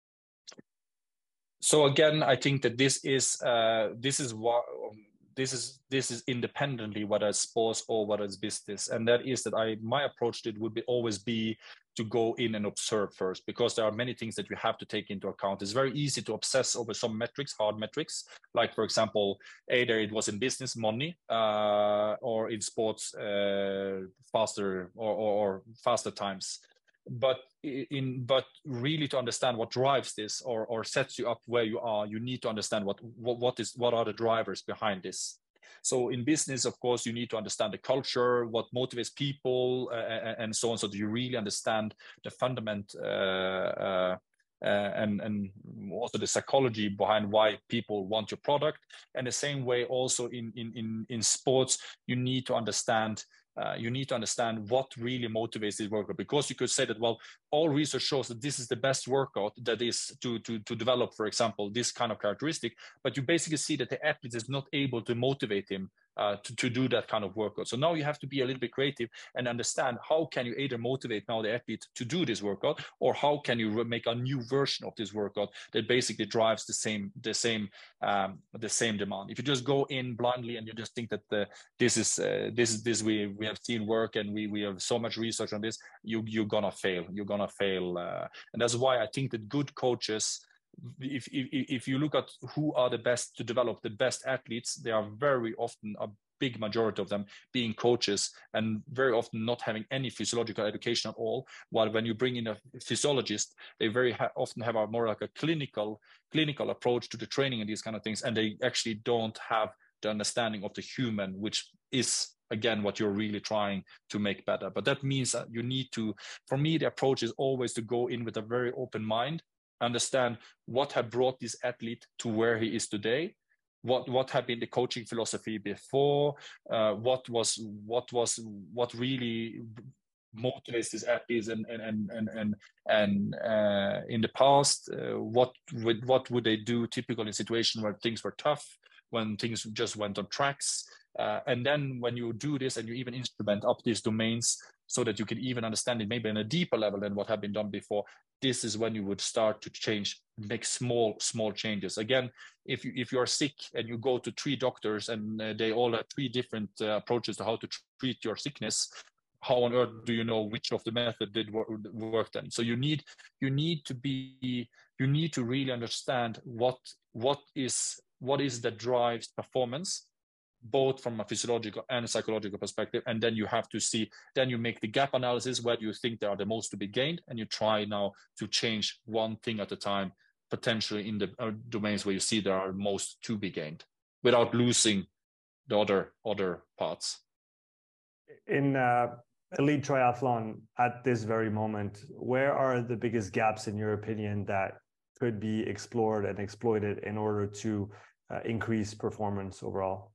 So again, I think that this is what this is independently whether it's sports or whether it's business, and that is that my approach to it would always be to go in and observe first, because there are many things that you have to take into account. It's very easy to obsess over some metrics, hard metrics, like for example, either it was in business, money, or in sports, faster or faster times. But really to understand what drives this or sets you up where you are, you need to understand what are the drivers behind this. So in business, of course, you need to understand the culture, what motivates people, and so on, so that you really understand the fundament and also the psychology behind why people want your product. And the same way also in sports, you need to understand what really motivates this workout, because you could say that, well, all research shows that this is the best workout that is to develop, for example, this kind of characteristic, but you basically see that the athlete is not able to motivate him to do that kind of workout. So now you have to be a little bit creative and understand how can you either motivate now the athlete to do this workout, or how can you make a new version of this workout that basically drives the same demand. If you just go in blindly and you just think that this we have seen work and we have so much research on this, you're gonna fail. And that's why I think that good coaches, if you look at who are the best to develop the best athletes, they are very often, a big majority of them, being coaches and very often not having any physiological education at all. While when you bring in a physiologist, they very often have a more like a clinical approach to the training and these kind of things, and they actually don't have the understanding of the human, which is again what you're really trying to make better. But that means that you need to, for me, the approach is always to go in with a very open mind, understand what had brought this athlete to where he is today, what had been the coaching philosophy before, what really motivates these athletes and in the past, what would they do typically in situations where things were tough, when things just went on tracks, and then when you do this and you even instrument up these domains so that you can even understand it maybe on a deeper level than what had been done before, this is when you would start to change, make small changes. Again, if you are sick and you go to 3 doctors and they all have 3 different approaches to how to treat your sickness, how on earth do you know which of the method did work then? So you need to really understand what is that drives performance, both from a physiological and a psychological perspective. And then you have to see, then you make the gap analysis, where do you think there are the most to be gained, and you try now to change one thing at a time, potentially in the domains where you see there are most to be gained, without losing the other parts. In elite triathlon at this very moment, where are the biggest gaps in your opinion that could be explored and exploited in order to increase performance overall?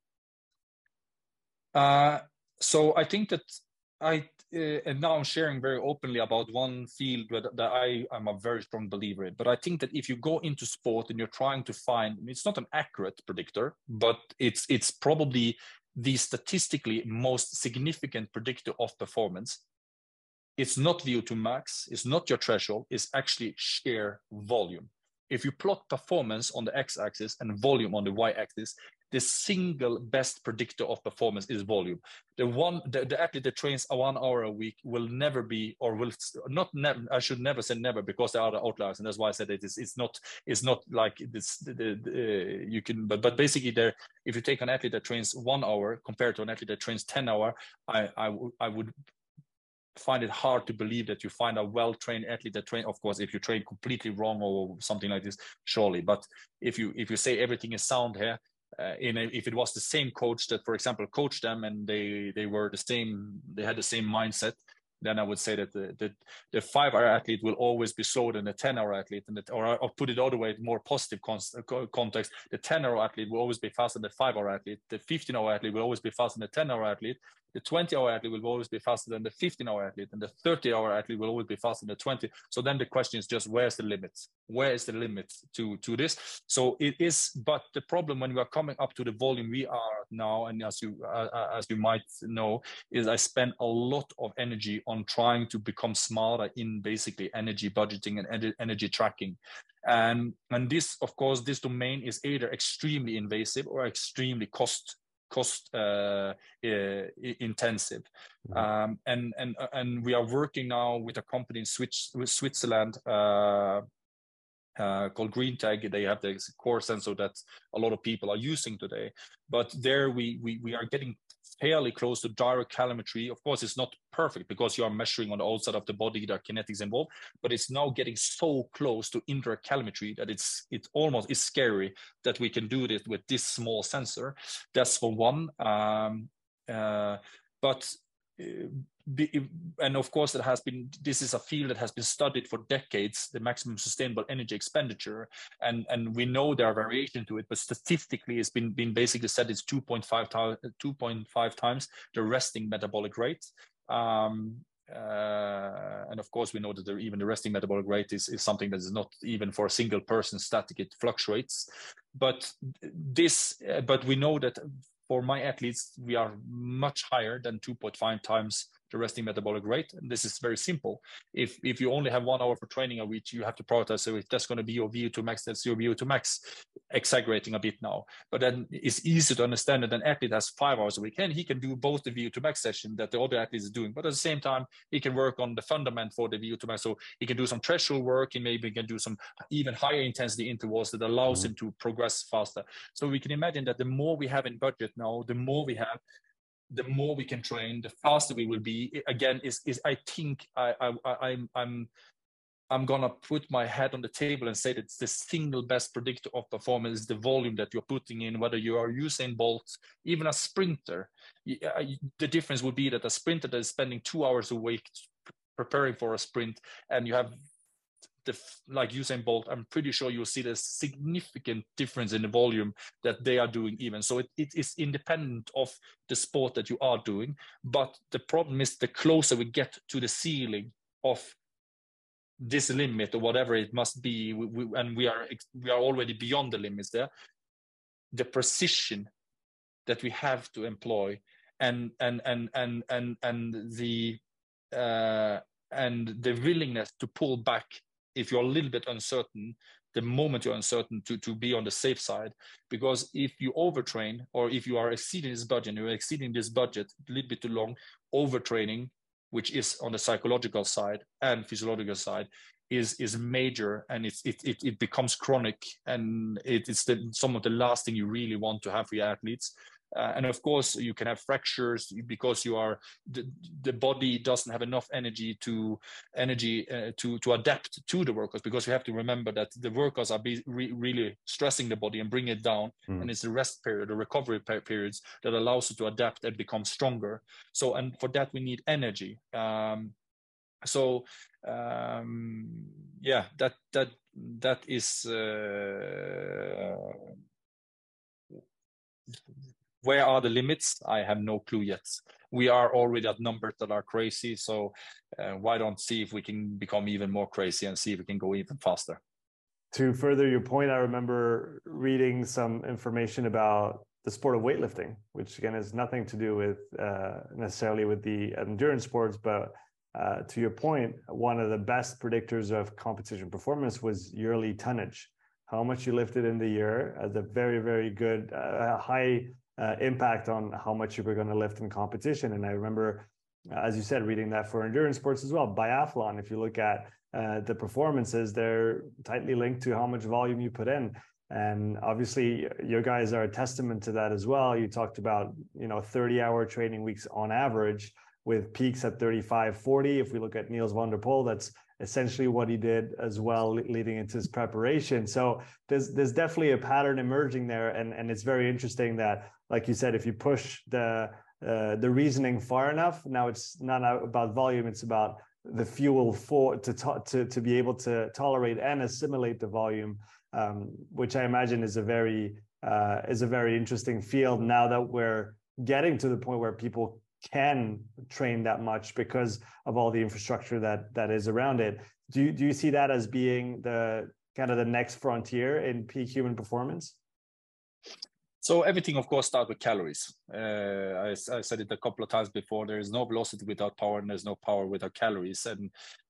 So I think that and now I'm sharing very openly about one field that I'm a very strong believer in. But I think that if you go into sport and you're trying to find, it's not an accurate predictor, but it's probably the statistically most significant predictor of performance. It's not VO2 max, it's not your threshold, it's actually sheer volume. If you plot performance on the x-axis and volume on the y-axis, the single best predictor of performance is volume. The athlete that trains 1 hour a week will never be, or will not never, I should never say never, because there are the outliers, and that's why I said it's not like this. You can, but basically, there, if you take an athlete that trains 1 hour compared to an athlete that trains 10 hours, I would find it hard to believe that you find a well-trained athlete that train. Of course, if you train completely wrong or something like this, surely. But if you say everything is sound here, if it was the same coach that, for example, coached them and they were the same, they had the same mindset, then I would say that the 5-hour athlete will always be slower than the 10-hour athlete, and or put it other way, more positive context, the 10-hour athlete will always be faster than the 5-hour athlete. The 15-hour athlete will always be faster than the 10-hour athlete. The 20-hour athlete will always be faster than the 15-hour athlete, and the 30-hour athlete will always be faster than the 20. So then the question is just, where's the limit? Where is the limit to this? So it is, but the problem when we are coming up to the volume we are now, and as you might know, is I spend a lot of energy on trying to become smarter in basically energy budgeting and energy tracking. And this, of course, this domain is either extremely invasive or extremely cost intensive. And we are working now with a company in Switzerland called GreenTag. They have the core sensor that a lot of people are using today. But there we are getting fairly close to direct calorimetry. Of course, it's not perfect because you are measuring on the outside of the body, there are kinetics involved, but it's now getting so close to indirect calorimetry that it almost is scary that we can do this with this small sensor. That's for one. And of course, this is a field that has been studied for decades, the maximum sustainable energy expenditure, and we know there are variations to it, but statistically it's been basically said it's 2.5 times the resting metabolic rate. And of course, we know that even the resting metabolic rate is something that is not even for a single person static, it fluctuates. But we know that for my athletes, we are much higher than 2.5 times the resting metabolic rate. And this is very simple. If you only have 1 hour for training a week, you have to prioritize. So if that's going to be your VO2 max, that's your VO2 max, exaggerating a bit now. But then it's easy to understand that an athlete has 5 hours a week and he can do both the VO2 max session that the other athlete is doing. But at the same time, he can work on the fundament for the VO2 max. So he can do some threshold work. He maybe can do some even higher intensity intervals that allows him to progress faster. So we can imagine that the more we have in budget now, the more we have, the more we can train, the faster we will be. Again, I think I'm gonna put my head on the table and say that the single best predictor of performance is the volume that you're putting in, whether you are Usain Bolt, even a sprinter. The difference would be that a sprinter that is spending 2 hours a week preparing for a sprint, and you have like Usain Bolt, I'm pretty sure you'll see the significant difference in the volume that they are doing even. So it is independent of the sport that you are doing. But the problem is the closer we get to the ceiling of this limit or whatever it must be, and we are already beyond the limits there, the precision that we have to employ and the willingness to pull back if you're a little bit uncertain, the moment you're uncertain, to be on the safe side. Because if you overtrain, or if you are exceeding this budget, you're exceeding this budget a little bit too long, overtraining, which is on the psychological side and physiological side, is major, and it becomes chronic, and it's some of the last thing you really want to have for your athletes. And of course, you can have fractures because the body doesn't have enough energy to adapt to the workouts, because we have to remember that the workouts are really stressing the body and bring it down. And it's the rest period, the recovery periods, that allows you to adapt and become stronger. So, and for that, we need energy. Yeah, that is where are the limits? I have no clue yet. We are already at numbers that are crazy. So why don't see if we can become even more crazy and see if we can go even faster. To further your point, I remember reading some information about the sport of weightlifting, which again has nothing to do with necessarily with the endurance sports, but to your point, one of the best predictors of competition performance was yearly tonnage. How much you lifted in the year has a very, very good, high impact on how much you were going to lift in competition. And I remember, as you said, reading that for endurance sports as well. Biathlon, if you look at the performances, they're tightly linked to how much volume you put in. And obviously, your guys are a testament to that as well. You talked about, 30-hour training weeks on average, with peaks at 35, 40. If we look at Niels van der Poel, that's essentially what he did as well, leading into his preparation. So there's definitely a pattern emerging there. And it's very interesting that, like you said, if you push the reasoning far enough, now it's not about volume, it's about the fuel to be able to tolerate and assimilate the volume, which I imagine is a very interesting field now that we're getting to the point where people can train that much because of all the infrastructure that is around it. Do you see that as being the kind of the next frontier in peak human performance? So everything, of course, starts with calories. I said it a couple of times before. There is no velocity without power, and there's no power without calories. And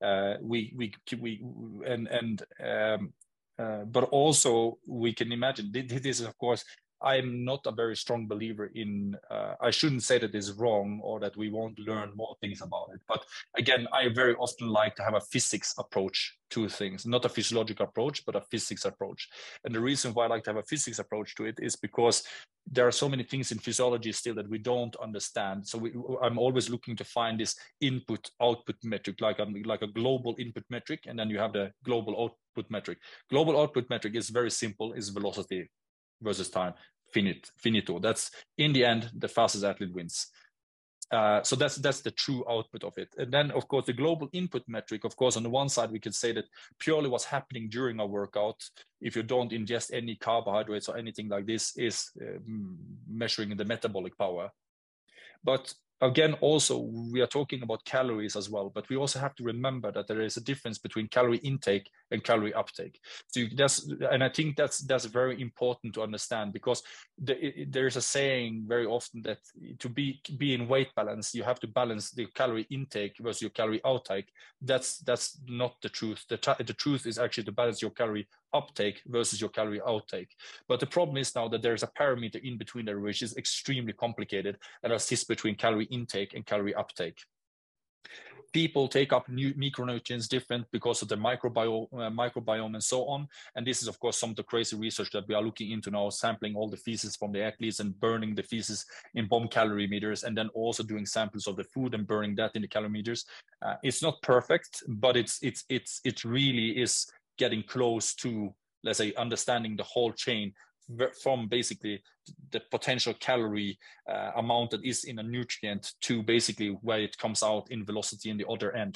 but also we can imagine this is, of course, I'm not a very strong believer in, I shouldn't say that it's wrong or that we won't learn more things about it. But again, I very often like to have a physics approach to things, not a physiological approach, but a physics approach. And the reason why I like to have a physics approach to it is because there are so many things in physiology still that we don't understand. So I'm always looking to find this input output metric, like a global input metric, and then you have the global output metric. Global output metric is very simple, is velocity versus time, finito. That's in the end, the fastest athlete wins. So that's the true output of it. And then, of course, the global input metric, of course, on the one side, we could say that purely what's happening during a workout, if you don't ingest any carbohydrates or anything like this, is measuring the metabolic power. But again, also, we are talking about calories as well, but we also have to remember that there is a difference between calorie intake and calorie uptake. So and I think that's very important to understand, because there is a saying very often that to be in weight balance, you have to balance the calorie intake versus your calorie outtake. That's not the truth. The truth is actually to balance your calorie uptake versus your calorie outtake. But the problem is now that there's a parameter in between there, which is extremely complicated, and assists between calorie intake and calorie uptake. People take up new micronutrients different because of the microbiome and so on. And this is, of course, some of the crazy research that we are looking into now, sampling all the feces from the athletes and burning the feces in bomb calorimeters, and then also doing samples of the food and burning that in the calorimeters. It's not perfect, but it really is getting close to, let's say, understanding the whole chain from basically the potential calorie amount that is in a nutrient to basically where it comes out in velocity in the other end,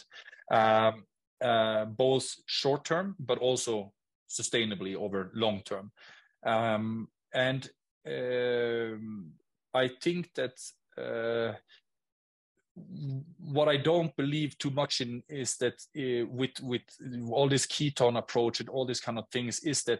both short term but also sustainably over long term. And I think that what I don't believe too much in is that with all this ketone approach and all these kind of things, is that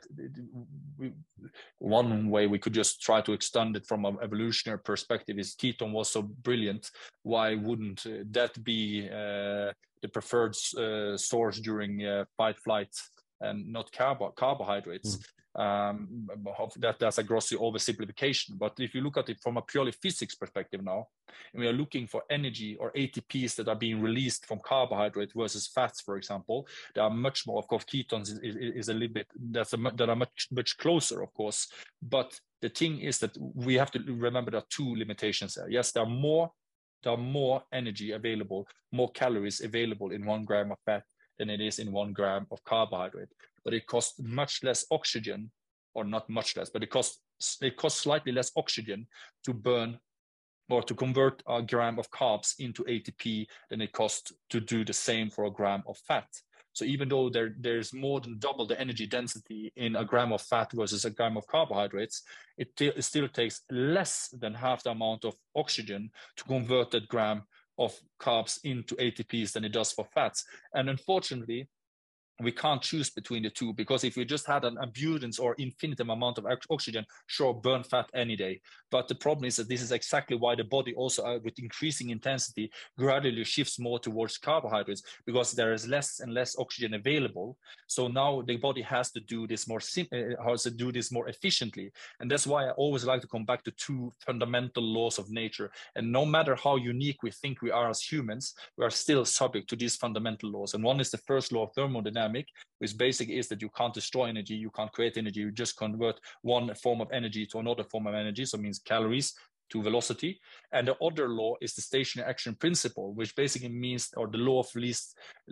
one way we could just try to extend it from an evolutionary perspective is ketone was so brilliant. Why wouldn't that be the preferred source during fight, flight, and not carbohydrates? That's a grossly oversimplification. But if you look at it from a purely physics perspective now, and we are looking for energy or ATPs that are being released from carbohydrate versus fats, for example, there are much more. Of course, ketones is a little bit, that are much closer, of course. But the thing is that we have to remember there are two limitations there. Yes, there are more energy available, more calories available in 1 gram of fat than it is in 1 gram of carbohydrate. But it costs much less oxygen, or not much less, but it costs slightly less oxygen to burn or to convert a gram of carbs into ATP than it costs to do the same for a gram of fat. So even though there's more than double the energy density in a gram of fat versus a gram of carbohydrates, it still takes less than half the amount of oxygen to convert that gram of carbs into ATPs than it does for fats. And unfortunately, we can't choose between the two, because if we just had an abundance or infinitum amount of oxygen, sure, burn fat any day. But the problem is that this is exactly why the body also, with increasing intensity, gradually shifts more towards carbohydrates, because there is less and less oxygen available. So now the body has to do this more efficiently. And that's why I always like to come back to two fundamental laws of nature. And no matter how unique we think we are as humans, we are still subject to these fundamental laws. And one is the first law of thermodynamics, which basically is that you can't destroy energy, you can't create energy, you just convert one form of energy to another form of energy. So it means calories to velocity. And the other law is the stationary action principle, which basically means, or the law of least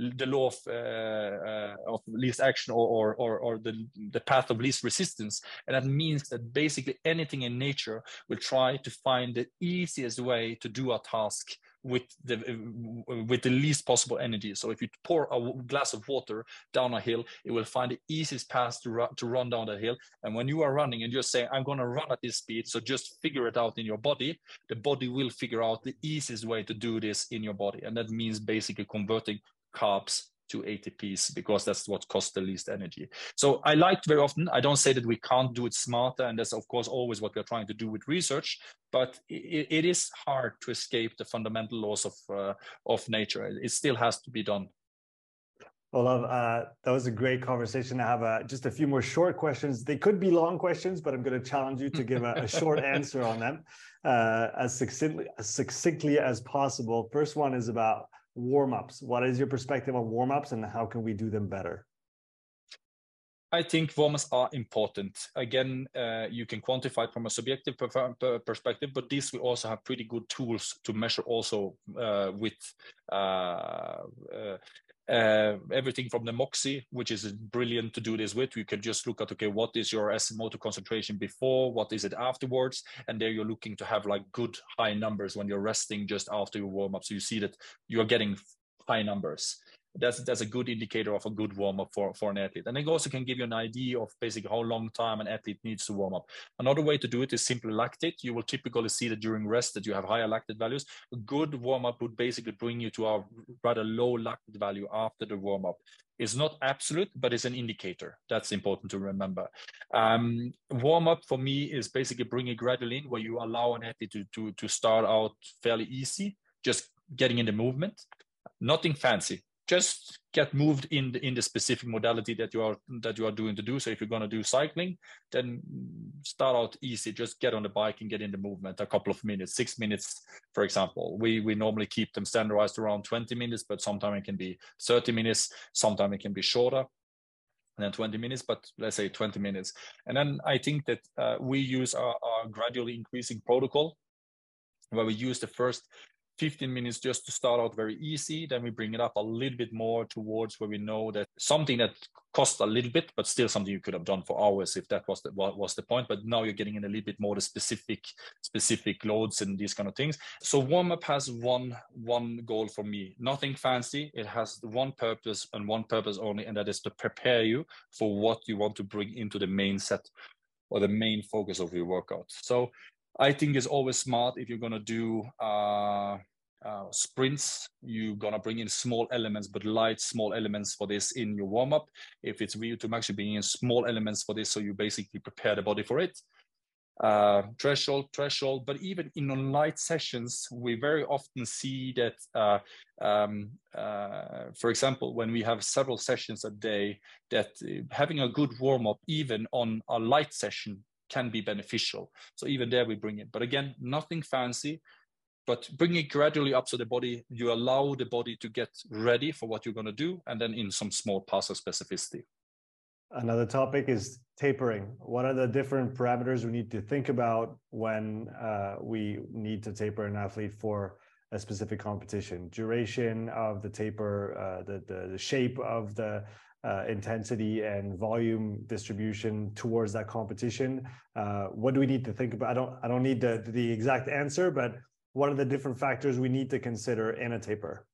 action, or the path of least resistance. And that means that basically anything in nature will try to find the easiest way to do a task with the least possible energy. So if you pour a glass of water down a hill, it will find the easiest path to run down the hill. And when you are running and you're saying, I'm going to run at this speed, so just figure it out in your body, the body will figure out the easiest way to do this in your body. And that means basically converting carbs to ATPs, because that's what costs the least energy. So I like very often, I don't say that we can't do it smarter, and that's of course always what we're trying to do with research, but it is hard to escape the fundamental laws of nature. It still has to be done. Olav, that was a great conversation. I have just a few more short questions. They could be long questions, but I'm going to challenge you to give a short answer on them as succinctly as possible. First one is about warm-ups. What is your perspective on warm-ups, and how can we do them better? I think warm-ups are important. Again, you can quantify it from a subjective perspective, but this we also have pretty good tools to measure also with everything from the Moxy, which is brilliant to do this with. You can just look at, okay, what is your SMO2 concentration before, what is it afterwards, and there you're looking to have like good high numbers when you're resting just after your warm-up. So you see that you are getting high numbers. That's a good indicator of a good warm-up for an athlete. And it also can give you an idea of basically how long time an athlete needs to warm up. Another way to do it is simply lactate. You will typically see that during rest that you have higher lactate values. A good warm-up would basically bring you to a rather low lactate value after the warm-up. It's not absolute, but it's an indicator. That's important to remember. Warm-up for me is basically bringing gradually in, where you allow an athlete to start out fairly easy, just getting in the movement, nothing fancy. Just get moved in the specific modality that you are doing to do. So if you're going to do cycling, then start out easy. Just get on the bike and get in the movement. A couple of minutes, 6 minutes, for example. We normally keep them standardized around 20 minutes, but sometimes it can be 30 minutes. Sometimes it can be shorter than 20 minutes, but let's say 20 minutes. And then I think that we use our gradually increasing protocol, where we use the first 15 minutes just to start out very easy. Then we bring it up a little bit more towards where we know that something that costs a little bit, but still something you could have done for hours if that was the point. But now you're getting in a little bit more the specific loads and these kind of things. So warm-up has one goal for me. Nothing fancy. It has one purpose and one purpose only, and that is to prepare you for what you want to bring into the main set or the main focus of your workout. So I think it's always smart if you're going to do sprints, you're going to bring in small elements, but light small elements for this in your warm-up. If it's real to actually bring in small elements for this, so you basically prepare the body for it. Threshold, but even in light sessions, we very often see that, for example, when we have several sessions a day, that having a good warm-up, even on a light session, can be beneficial. So even there we bring it, but again, nothing fancy, but bring it gradually up, so the body, you allow the body to get ready for what you're going to do, and then in some small parts of specificity. Another topic is tapering. What are the different parameters we need to think about when we need to taper an athlete for a specific competition? Duration of the taper, the shape of the intensity and volume distribution towards that competition. What do we need to think about? I don't need the exact answer, but what are the different factors we need to consider in a taper?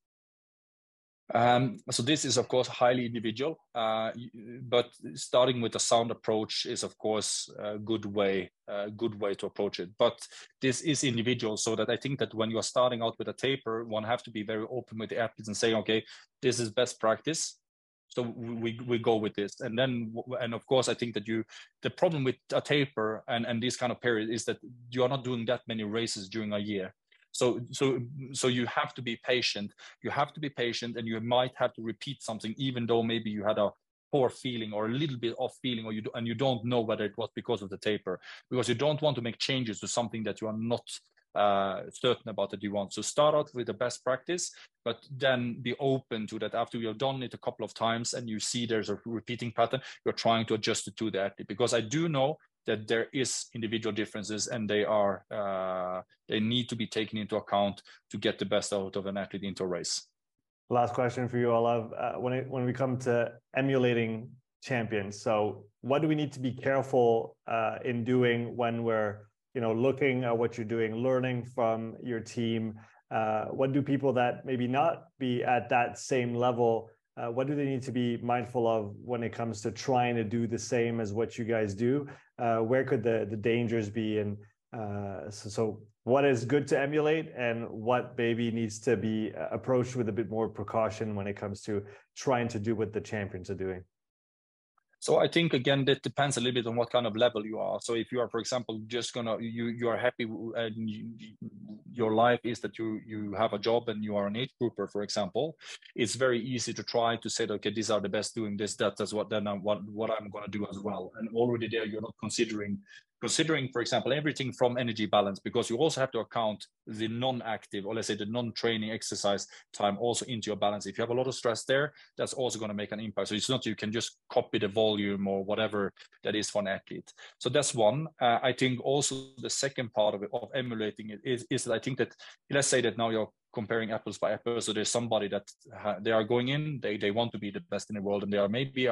So this is of course highly individual, but starting with a sound approach is of course a good way to approach it. But this is individual, so that I think that when you are starting out with a taper, one have to be very open with the athletes and say, okay, this is best practice. So we go with this, and of course I think that the problem with a taper and this kind of period is that you are not doing that many races during a year. So you have to be patient. You have to be patient, and you might have to repeat something, even though maybe you had a poor feeling or a little bit off feeling, or you don't know whether it was because of the taper, because you don't want to make changes to something that you are not certain about that you want. So start out with the best practice, but then be open to that after you've done it a couple of times and you see there's a repeating pattern, you're trying to adjust it to the athlete. Because I do know that there is individual differences, and they need to be taken into account to get the best out of an athlete into a race. Last question for you, Olav. When we come to emulating champions, so what do we need to be careful in doing when we're looking at what you're doing, learning from your team, what do people that maybe not be at that same level, what do they need to be mindful of when it comes to trying to do the same as what you guys do? Where could the dangers be? And so what is good to emulate and what maybe needs to be approached with a bit more precaution when it comes to trying to do what the champions are doing? So I think, again, that depends a little bit on what kind of level you are. So if you are, for example, just you are happy and your life is that you have a job and you are an age grouper, for example, it's very easy to try to say, okay, these are the best doing this, that's what I'm going to do as well. And already there, you're not considering, for example, everything from energy balance, because you also have to account the non-active, or let's say the non-training exercise time also into your balance. If you have a lot of stress there, that's also going to make an impact. So it's not you can just copy the volume or whatever that is for an athlete. So that's one. I think also the second part of it, of emulating it, is that I think that, let's say that now you're comparing apples by apples. So there's somebody that they are going in, they want to be the best in the world, and they are maybe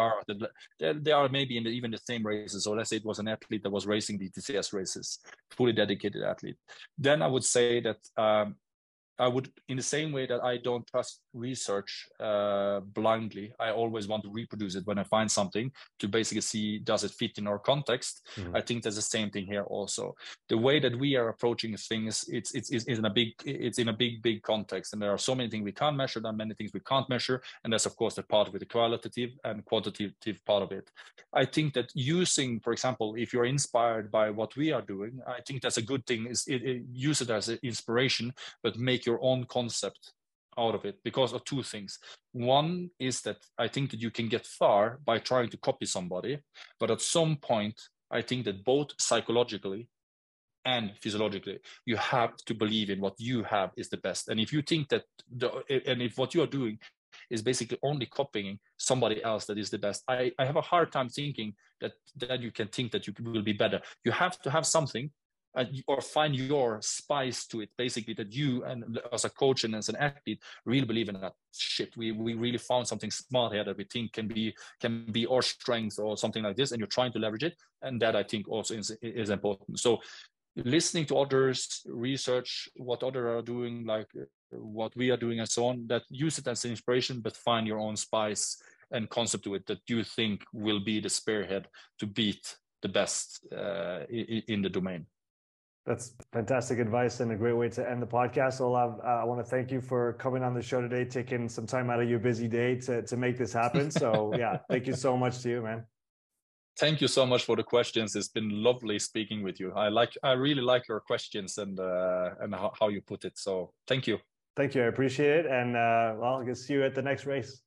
in even the same races. So let's say it was an athlete that was racing the TCS races, fully dedicated athlete. Then I would say that I would, in the same way that I don't trust research blindly, I always want to reproduce it when I find something to basically see, does it fit in our context? Mm-hmm. I think there's the same thing here also. The way that we are approaching things, it's in a big context, and there are so many things we can't measure, there are many things we can't measure, and that's of course the part of it, the qualitative and quantitative part of it. I think that using, for example, if you're inspired by what we are doing, I think that's a good thing. Is use it as an inspiration, but make your own concept out of it, because of two things. One is that I think that you can get far by trying to copy somebody, but at some point, I think that both psychologically and physiologically, you have to believe in what you have is the best. And if you think that, if what you are doing is basically only copying somebody else that is the best, I have a hard time thinking that you can think that you will be better. You have to have something, or find your spice to it, basically, that you, and as a coach and as an athlete, really believe in that shit. We really found something smart here that we think can be our strength or something like this, and you're trying to leverage it. And that I think also is important. So listening to others, research what others are doing, like what we are doing and so on, that use it as an inspiration, but find your own spice and concept to it that you think will be the spearhead to beat the best in the domain. That's fantastic advice and a great way to end the podcast. Olav, I want to thank you for coming on the show today, taking some time out of your busy day to make this happen. So yeah, thank you so much to you, man. Thank you so much for the questions. It's been lovely speaking with you. I really like your questions and how you put it. So thank you. Thank you. I appreciate it. And well, I'll see you at the next race.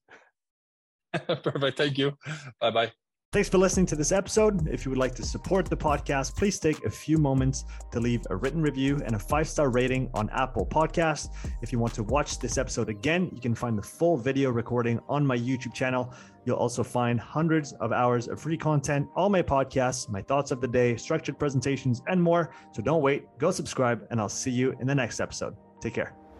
Perfect. Thank you. Bye-bye. Thanks for listening to this episode. If you would like to support the podcast, please take a few moments to leave a written review and a 5-star rating on Apple Podcasts. If you want to watch this episode again, you can find the full video recording on my YouTube channel. You'll also find hundreds of hours of free content, all my podcasts, my thoughts of the day, structured presentations, and more. So don't wait, go subscribe, and I'll see you in the next episode. Take care.